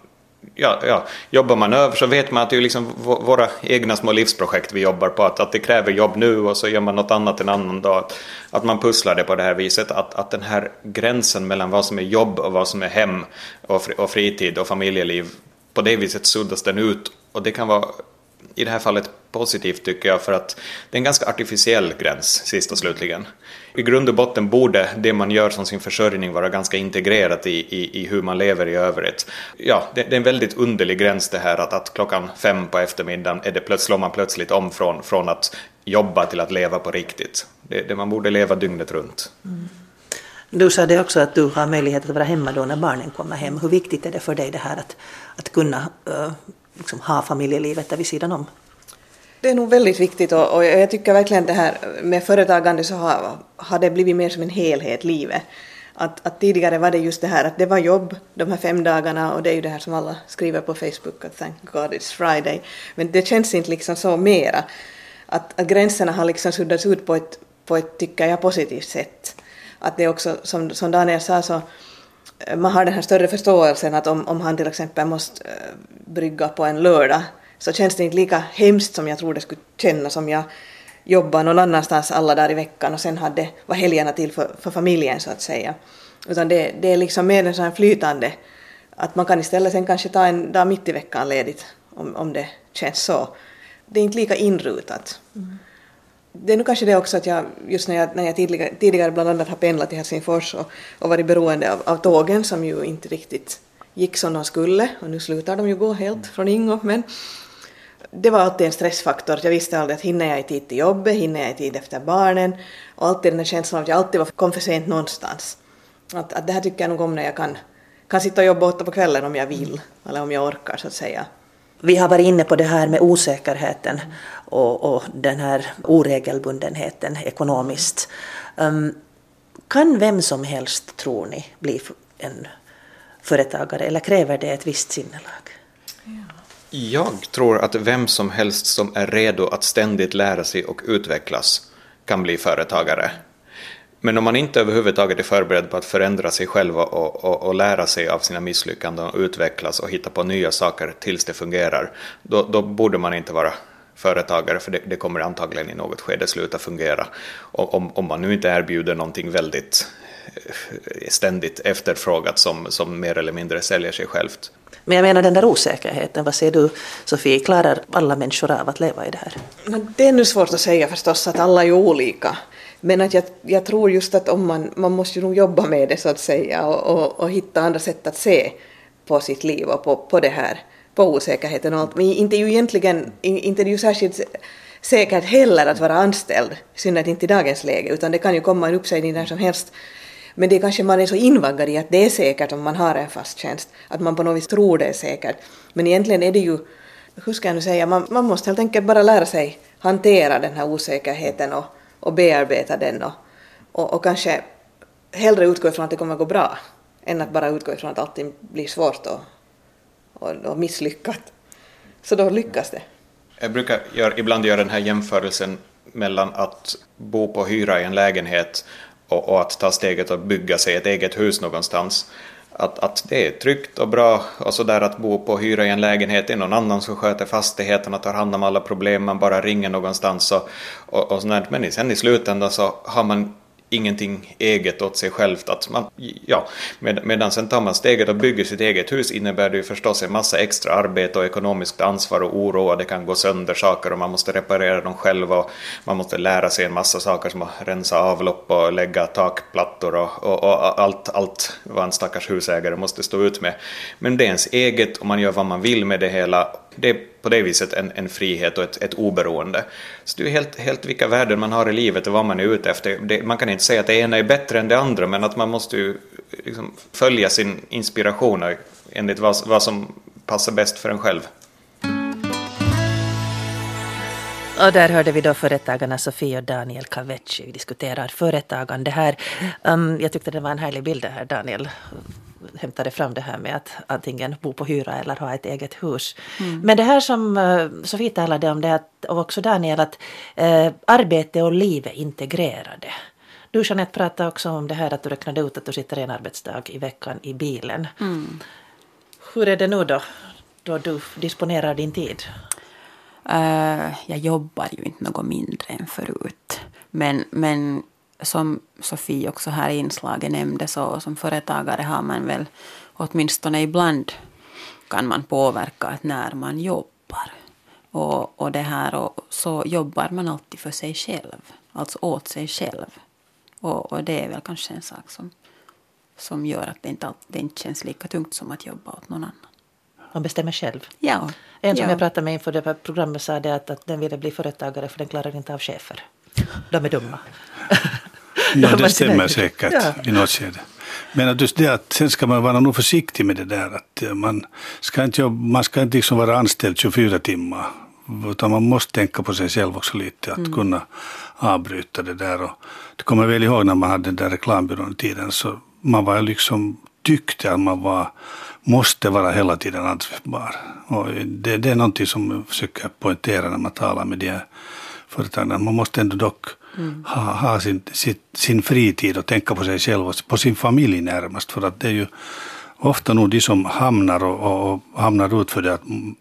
Ja, ja, jobbar man över så vet man att det är liksom våra egna små livsprojekt vi jobbar på, att, att det kräver jobb nu och så gör man något annat en annan dag, att, att man pusslar det på det här viset, att, att den här gränsen mellan vad som är jobb och vad som är hem och, fri, och fritid och familjeliv, på det viset suddas den ut, och det kan vara i det här fallet positivt tycker jag, för att det är en ganska artificiell gräns sist och slutligen. I grund och botten borde det man gör som sin försörjning vara ganska integrerat i, i, i hur man lever i övrigt. Ja, det, det är en väldigt underlig gräns det här att, att klockan fem på eftermiddagen är det plötsligt, slår man plötsligt om från, från att jobba till att leva på riktigt. Det, det man borde leva dygnet runt. Mm. Du sa det också att du har möjlighet att vara hemma då när barnen kommer hem. Hur viktigt är det för dig det här att, att kunna uh, liksom ha familjelivet där vid sidan om? Det är nog väldigt viktigt, och, och jag tycker verkligen det här med företagande så har, har det blivit mer som en helhet livet. Att, att tidigare var det just det här att det var jobb de här fem dagarna, och det är ju det här som alla skriver på Facebook att thank God it's Friday. Men det känns inte liksom så mera. Att, att gränserna har liksom suddats ut på ett, på ett tycker jag positivt sätt. Att det också, som, som Daniel sa, så man har den här större förståelsen att om, om han till exempel måste uh, brygga på en lördag, så känns det inte lika hemskt som jag tror det skulle kännas om jag jobbar någon annanstans alla dagar i veckan och sen hade var helgerna till för, för familjen så att säga. Utan det, det är liksom mer en sån här flytande, att man kan istället sen kanske ta en dag mitt i veckan ledigt om, om det känns så. Det är inte lika inrutat. Mm. Det är nog kanske det också att jag, just när jag, när jag tidigare, tidigare bland annat har pendlat till Helsingfors och, och varit beroende av, av tågen som ju inte riktigt gick som de skulle, och nu slutar de ju gå helt från Ingo, men det var alltid en stressfaktor. Jag visste aldrig att hinner jag i tid till jobbet, hinner jag i tid efter barnen, och alltid den här känslan att jag alltid var, kom för sent någonstans. Att, att det här tycker jag nog om när jag kan, kan sitta och jobba åtta på kvällen om jag vill, eller om jag orkar så att säga. Vi har varit inne på det här med osäkerheten och, och den här oregelbundenheten ekonomiskt. Um, kan vem som helst, tror ni, bli en företagare, eller kräver det ett visst sinnelag? Jag tror att vem som helst som är redo att ständigt lära sig och utvecklas kan bli företagare. Men om man inte överhuvudtaget är förberedd på att förändra sig själv och, och, och lära sig av sina misslyckanden och utvecklas och hitta på nya saker tills det fungerar, då, då borde man inte vara företagare, för det, det kommer antagligen i något skede sluta fungera. Om, om man nu inte erbjuder någonting väldigt ständigt efterfrågat som, som mer eller mindre säljer sig självt. Men jag menar den där osäkerheten, vad säger du Sofie, klarar alla människor av att leva i det här? Det är nu svårt att säga förstås, att alla är olika. Men att jag, jag tror just att om man, man måste ju nog jobba med det så att säga, och, och, och hitta andra sätt att se på sitt liv och på, på det här, på osäkerheten och allt. Men inte ju egentligen, inte är det ju särskilt säkert heller att vara anställd, synnerhet inte i dagens läge, utan det kan ju komma en uppsägning där som helst. Men det kanske man är så invaggad i att det är säkert om man har en fast tjänst, att man på något vis tror det är säkert. Men egentligen är det ju, hur ska jag nu säga, man, man måste helt enkelt bara lära sig hantera den här osäkerheten och, och bearbeta den och, och, och kanske hellre utgå ifrån att det kommer att gå bra än att bara utgå ifrån att allting blir svårt och, och, och misslyckat. Så då lyckas det. Jag brukar gör, ibland göra den här jämförelsen mellan att bo på hyra i en lägenhet och, och att ta steget att bygga sig ett eget hus någonstans. Att, att det är tryggt och bra, och så där att bo på hyra i en lägenhet är någon annan som sköter fastigheten och tar hand om alla problem, man bara ringer någonstans och, och, och sådär. Men sen i slutändan så har man ingenting eget åt sig självt. Att man, ja, med, medan sen tar man steget och bygger sitt eget hus, innebär det ju förstås en massa extra arbete och ekonomiskt ansvar och oro, och det kan gå sönder saker och man måste reparera dem själv och man måste lära sig en massa saker som att rensa avlopp och lägga takplattor och, och, och allt, allt vad en stackars husägare måste stå ut med. Men det är ens eget och man gör vad man vill med det hela. Det är på det viset en, en frihet och ett, ett oberoende. Så det är helt, helt vilka värden man har i livet och vad man är ute efter. Det, man kan inte säga att det ena är bättre än det andra, men att man måste ju liksom följa sin inspiration enligt vad, vad som passar bäst för en själv. Och där hörde vi då företagarna Sofie och Daniel Kavecci diskuterar företagande här. Um, jag tyckte det var en härlig bild här, Daniel hämtade fram det här med att antingen bo på hyra eller ha ett eget hus. Mm. Men det här som uh, Sofie talade om, det att, och också Daniel, att uh, arbete och liv är integrerade. Du, Jeanette, pratade också om det här att du räknade ut att du sitter en arbetsdag i veckan i bilen. Mm. Hur är det nu då? då du disponerar din tid? Uh, jag jobbar ju inte något mindre än förut. Men, men som Sofie också här i inslaget nämnde, så som företagare har man väl åtminstone ibland kan man påverka att när man jobbar. Och, och det här, och så jobbar man alltid för sig själv. Alltså åt sig själv. Och, och det är väl kanske en sak som, som gör att det inte, det inte känns lika tungt som att jobba åt någon annan. Man bestämmer själv. Ja. En som ja. jag pratade med inför det här programmet sa det att, att den ville bli företagare för den klarar inte av chefer. De är dumma. Ja, det stämmer säkert ja. i något skede. Men att just det att sen ska man vara nog försiktig med det där. Att man ska inte, jobba, man ska inte liksom vara anställd tjugofyra timmar. Utan man måste tänka på sig själv också lite. Att mm. kunna avbryta det där. Och det kommer väl ihåg när man hade den där reklambyrån i tiden. Så man var liksom tyckte att man var, måste vara hela tiden ansvarsbar. Och det, det är någonting som jag försöker poängtera när man talar med de här företagen. Man måste ändå dock mm. ha, ha sin, sin, sin fritid och tänka på sig själv och på sin familj närmast. För att det är ju ofta nog de som hamnar och, och hamnar ut för det att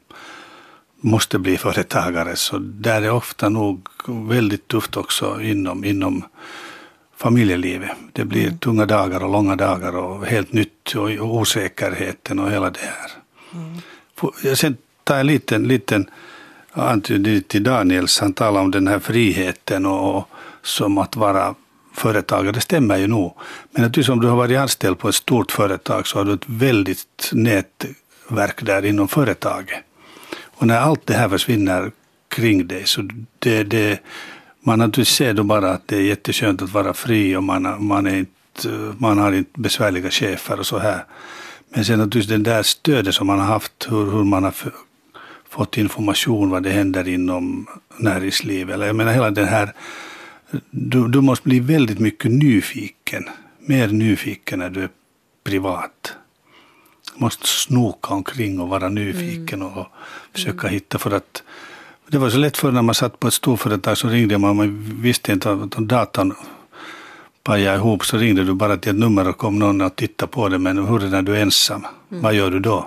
måste bli företagare. Så där är ofta nog väldigt tufft också inom, inom familjelivet. Det blir mm. tunga dagar och långa dagar och helt nytt och, och osäkerheten och hela det här. Mm. Jag sen tar en liten, liten antydning till Daniels. Han talar om den här friheten och, och som att vara företagare. Det stämmer ju nog. Men att du som du har varit anställd på ett stort företag så har du ett väldigt nätverk där inom företaget. Och när allt det här försvinner kring dig så det, det man naturligtvis ser då bara att det är jätteskönt att vara fri och man, man, är inte, man har inte besvärliga chefer och så här. Men sen naturligtvis den där stödet som man har haft, hur, hur man har f- fått information vad det händer inom näringslivet. Eller jag menar hela den här, du, du måste bli väldigt mycket nyfiken, mer nyfiken när du är privat. Du måste snoka omkring och vara nyfiken mm. och försöka mm. hitta för att det var så lätt för när man satt på ett storföretag så ringde man, man visste inte att datorn pajade ihop så ringde du bara till ett nummer och kom någon och tittade på det, men hur är det när du är ensam? Mm. Vad gör du då?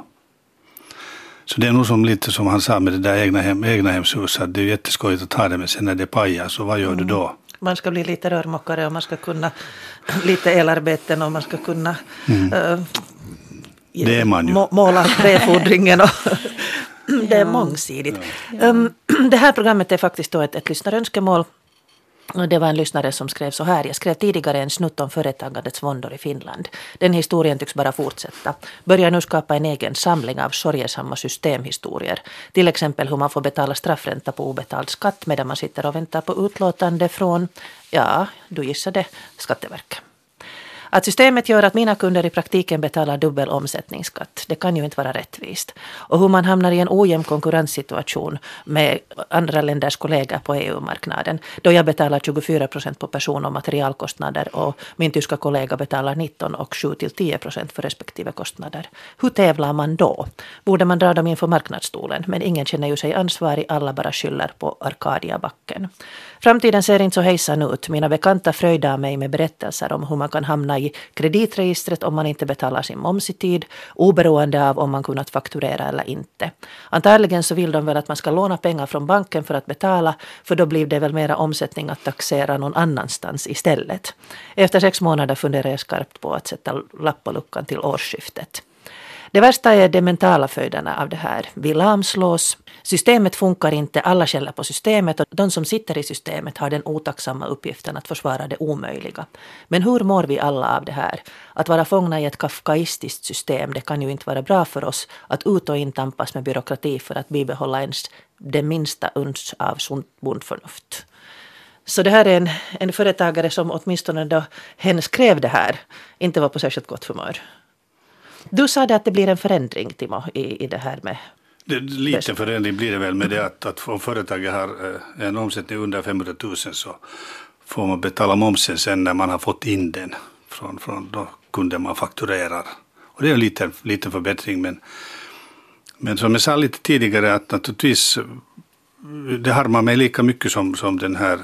Så det är nog som lite som han sa med det där egna, hem, egna hemshuset, att det är jätteskojigt att ta det med sen när det pajar, så vad gör mm. du då? Man ska bli lite rörmokare och man ska kunna lite elarbeten och man ska kunna mm. uh, det är man ju. Må, måla träfodringen och det är mångsidigt. Ja. Um, det här programmet är faktiskt då ett, ett lyssnarönskemål. Det var en lyssnare som skrev så här. Jag skrev tidigare en snutt om företagandets våndor i Finland. Den historien tycks bara fortsätta. Börjar nu skapa en egen samling av sorgesamma systemhistorier. Till exempel hur man får betala straffränta på obetald skatt medan man sitter och väntar på utlåtande från, ja, du gissade, Skatteverket. Att systemet gör att mina kunder i praktiken betalar dubbel omsättningsskatt, det kan ju inte vara rättvist. Och hur man hamnar i en ojämn konkurrenssituation med andra länders kollegor på E U-marknaden. Då jag betalar tjugofyra procent på person- och materialkostnader och min tyska kollega betalar nitton och sju till tio procent för respektive kostnader. Hur tävlar man då? Borde man dra dem inför marknadsstolen? Men ingen känner ju sig ansvarig, alla bara skyller på Arkadia-backen. Framtiden ser inte så hejsan ut. Mina bekanta fröjdar mig med berättelser om hur man kan hamna i kreditregistret om man inte betalar sin moms i tid, oberoende av om man kunnat fakturera eller inte. Antagligen så vill de väl att man ska låna pengar från banken för att betala, för då blir det väl mera omsättning att taxera någon annanstans istället. Efter sex månader funderar jag skarpt på att sätta lapp på luckan till årsskiftet. Det värsta är de mentala följderna av det här. Vi lamslås, systemet funkar inte, alla skäller på systemet och de som sitter i systemet har den otacksamma uppgiften att försvara det omöjliga. Men hur mår vi alla av det här? Att vara fångna i ett kafkaistiskt system, det kan ju inte vara bra för oss att ut och in tampas med byråkrati för att bibehålla ens det minsta uns av sunt bondförnuft. Så det här är en, en företagare som åtminstone då hen skrev det här inte var på särskilt gott humör. Du sa det att det blir en förändring, Timo, i, i det här med... Det, lite förändring blir det väl med det att, att om företaget har en omsättning under femhundratusen så får man betala momsen sen när man har fått in den från, från då kunden man fakturerar. Och det är en liten, liten förbättring, men, men som jag sa lite tidigare att naturligtvis det harmar mig lika mycket som, som den här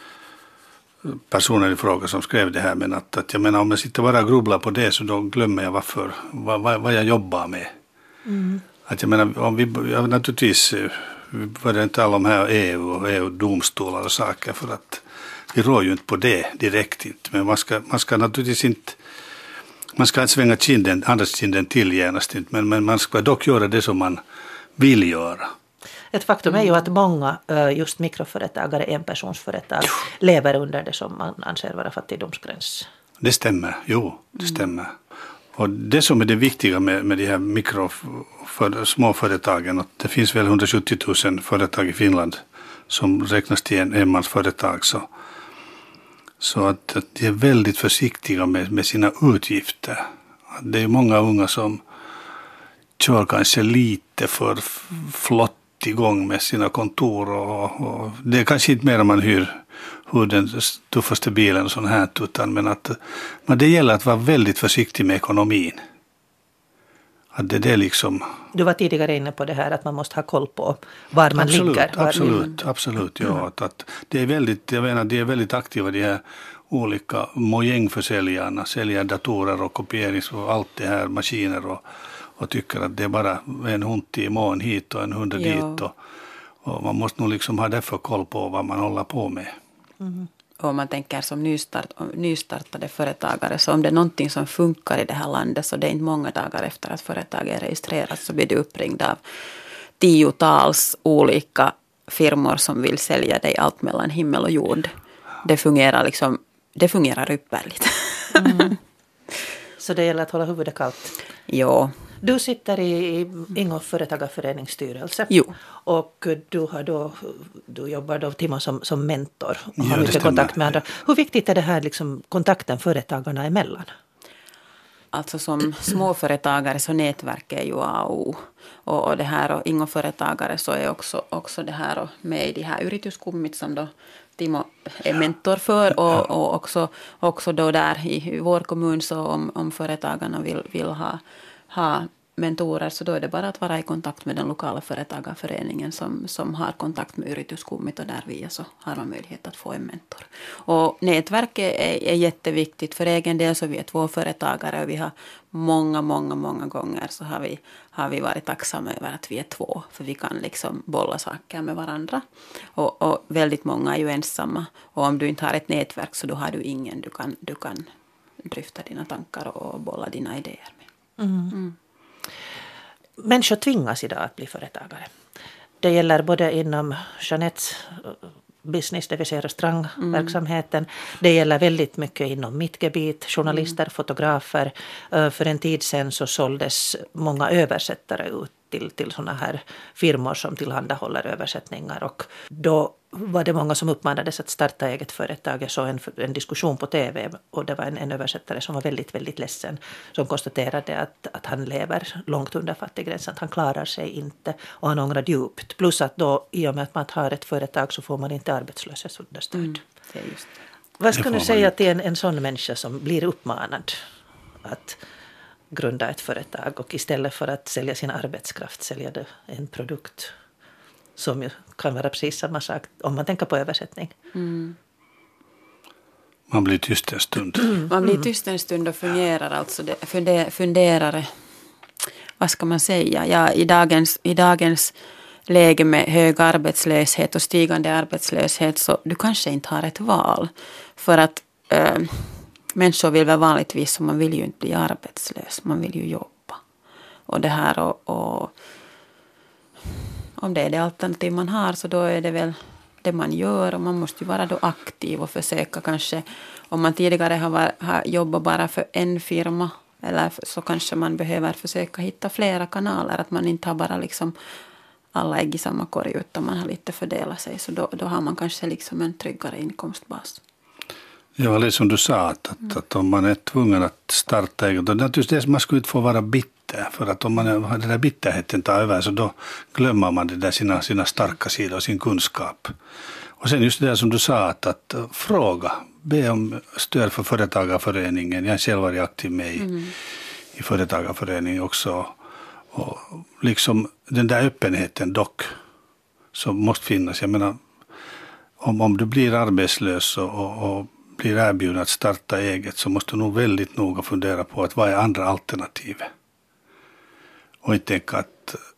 personen i fråga som skrev det här, men att, att jag menar om jag sitter bara och grubblar på det så då glömmer jag varför, vad, vad jag jobbar med. Mm. Att jag menar, om vi, ja, naturligtvis, vi börjar inte tala om här E U och E U-domstolar och saker för att vi rår ju inte på det direkt inte. Men man ska, man ska naturligtvis inte, man ska inte svänga kinden, andra kinden till genast inte, men, men man ska dock göra det som man vill göra. Ett faktum är ju att många just mikroföretagare, enpersonsföretag, lever under det som man anser vara fattigdomsgräns. Det stämmer, jo, det stämmer. Och det som är det viktiga med, med de här mikro, för, småföretagen, att det finns väl hundrasjuttio tusen företag i Finland som räknas till en enmansföretag, så, så att, att de är väldigt försiktiga med, med sina utgifter. Det är många unga som kör kanske lite för flott igång med sina kontor och, och det är kanske inte mer om man hyr, hyr den tuffaste bilen och sånt här, utan men att men det gäller att vara väldigt försiktig med ekonomin. Att det, det är liksom... Du var tidigare inne på det här att man måste ha koll på var man absolut, ligger. Var absolut, man... absolut, ja. Mm. Att, att det är väldigt, jag menar, det är väldigt aktiva de här olika mojängförsäljarna, säljer datorer och kopierings och allt det här, maskiner och och tycker att det är bara en hund i mån hit och en hund ja. dit. Och, och man måste nog liksom ha därför koll på vad man håller på med. Mm. Och om man tänker som nystart, nystartade företagare, så om det är någonting som funkar i det här landet, så det är inte många dagar efter att företaget är registrerat så blir det uppringd av tiotals olika firmor som vill sälja dig allt mellan himmel och jord. Det fungerar liksom, det fungerar ypperligt. Mm. Så det gäller att hålla huvudet kallt. Ja. Du sitter i Ingo företagarförenings styrelse. Jo. Och du, har då, du jobbar då Timo som, som mentor och ja, har mycket kontakt med andra. Hur viktigt är det här liksom, kontakten företagarna emellan? Alltså som småföretagare så nätverket är ju A och O. Och, och det här och Ingo företagare så är också, också det här och med i de här yrityskummit som då Timo är mentor för och, och också, också då där i, i vår kommun så om, om företagarna vill, vill ha, ha mentorer så då är det bara att vara i kontakt med den lokala företagarföreningen som, som har kontakt med yrityskummit och där via så har man möjlighet att få en mentor. Och nätverket är, är jätteviktigt för egen del, så vi är två företagare och vi har många, många, många gånger så har vi, har vi varit tacksamma över att vi är två, för vi kan liksom bolla saker med varandra. Och, och väldigt många är ju ensamma, och om du inte har ett nätverk så då har du ingen du kan, du kan dryfta dina tankar och bolla dina idéer med. Mm. Mm. Människor tvingas idag att bli företagare. Det gäller både inom Jeanettes business, det vill säga restaurangverksamheten. Mm. Det gäller väldigt mycket inom mitt gebit, journalister, mm. fotografer. För en tid sedan så såldes många översättare ut till, till sådana här firmor som tillhandahåller översättningar. Och då var det många som uppmanades att starta eget företag. Jag såg en, en diskussion på tv och det var en, en översättare som var väldigt, väldigt ledsen. Som konstaterade att, att han lever långt under fattiggränsen, att han klarar sig inte och han ångrar djupt. Plus att då i och med att man har ett företag så får man inte arbetslöshetsunderstöd. Mm, det är just det. Vad ska du säga till en, en sån människa som blir uppmanad att grunda ett företag och istället för att sälja sin arbetskraft sälja det en produkt som ju kan vara precis samma sak om man tänker på översättning. Mm. Man blir tyst en stund. Mm. Man blir tyst en stund och fungerar alltså det, funder, funderar, vad ska man säga, ja, i, dagens, i dagens läge med hög arbetslöshet och stigande arbetslöshet så du kanske inte har ett val, för att äh, människor vill väl vanligtvis, så man vill ju inte bli arbetslös, man vill ju jobba. Och det här och, och om det är det alternativ man har så då är det väl det man gör, och man måste ju vara då aktiv och försöka kanske, om man tidigare har, har jobbat bara för en firma eller så kanske man behöver försöka hitta flera kanaler, att man inte har bara liksom alla ägg i samma korg utan man har lite fördelat sig, så då, då har man kanske liksom en tryggare inkomstbas. Ja, det som du sa, att, att, att om man är tvungen att starta eget, då naturligtvis det, man skulle inte få vara bitter, för att om man har den där bitterheten tar över så då glömmer man det där sina, sina starka sidor och sin kunskap. Och sen just det där som du sa, att, att fråga, be om stöd för företagarföreningen. Jag själv varit aktiv med i, mm. i företagarföreningen också. Och liksom den där öppenheten dock som måste finnas. Jag menar, om, om du blir arbetslös och, och, och blir erbjuden att starta eget så måste du nog väldigt noga fundera på att vad är andra alternativ. Och inte tänka att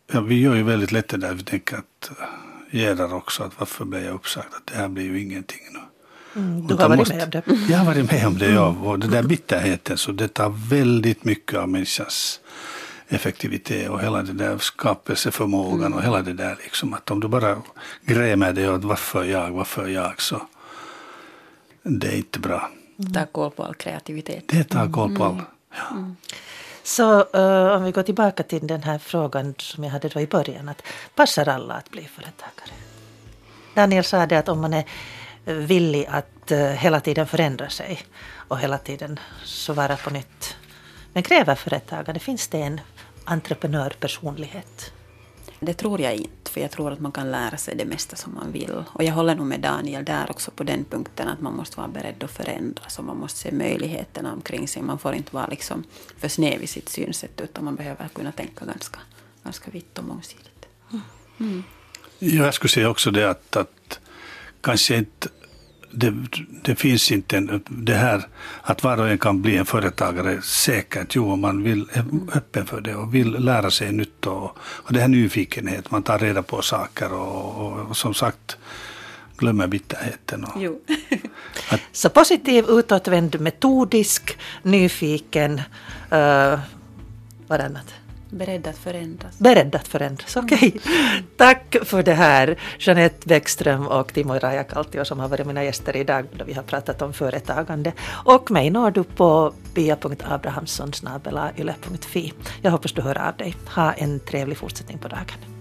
Ja, vi gör ju väldigt lätt det där. Vi tänker att Gerhard också, att varför blev jag uppsagt? Att det här blir ju ingenting nu. Mm, du har varit måste, med om det. Jag har varit med om det, ja. Och det där bitterheten, så det tar väldigt mycket av människans effektivitet och hela det där skapelseförmågan mm. och hela det där liksom. Att om du bara grämer dig åt varför jag, varför jag, så det är inte bra. Mm. Ta koll på all kreativitet. Det tar koll på all. Mm. Ja. Mm. Så uh, om vi går tillbaka till den här frågan som jag hade då i början, att passar alla att bli företagare? Daniel sa det att om man är villig att uh, hela tiden förändra sig och hela tiden så vara på nytt. Men kräver företagande, finns det en entreprenörpersonlighet? Det tror jag inte, för jag tror att man kan lära sig det mesta som man vill. Och jag håller nog med Daniel där också på den punkten att man måste vara beredd att förändras och man måste se möjligheterna omkring sig. Man får inte vara liksom för snäv i sitt synsätt, utan man behöver kunna tänka ganska, ganska vitt och mångsidigt. Mm. Mm. Jag skulle säga också det att, att kanske inte det, det finns inte en, det här att var och en kan bli en företagare säkert. Jo, om man vill, är öppen för det och vill lära sig nytt och, och det här nyfikenhet, man tar reda på saker och, och, och som sagt glömmer bitterheten. Och, jo. att, så positiv, utåtvänd, metodisk, nyfiken, uh, vad annat? Beredd att förändras. Beredd att förändras, okej. Okay. Mm. Tack för det här, Jeanette Bäckström och Timo Rajakaltio som har varit mina gäster idag då vi har pratat om företagande. Och mig når du på pia punkt abrahamsson snabel-a yle punkt fi. Jag hoppas du hör av dig. Ha en trevlig fortsättning på dagen.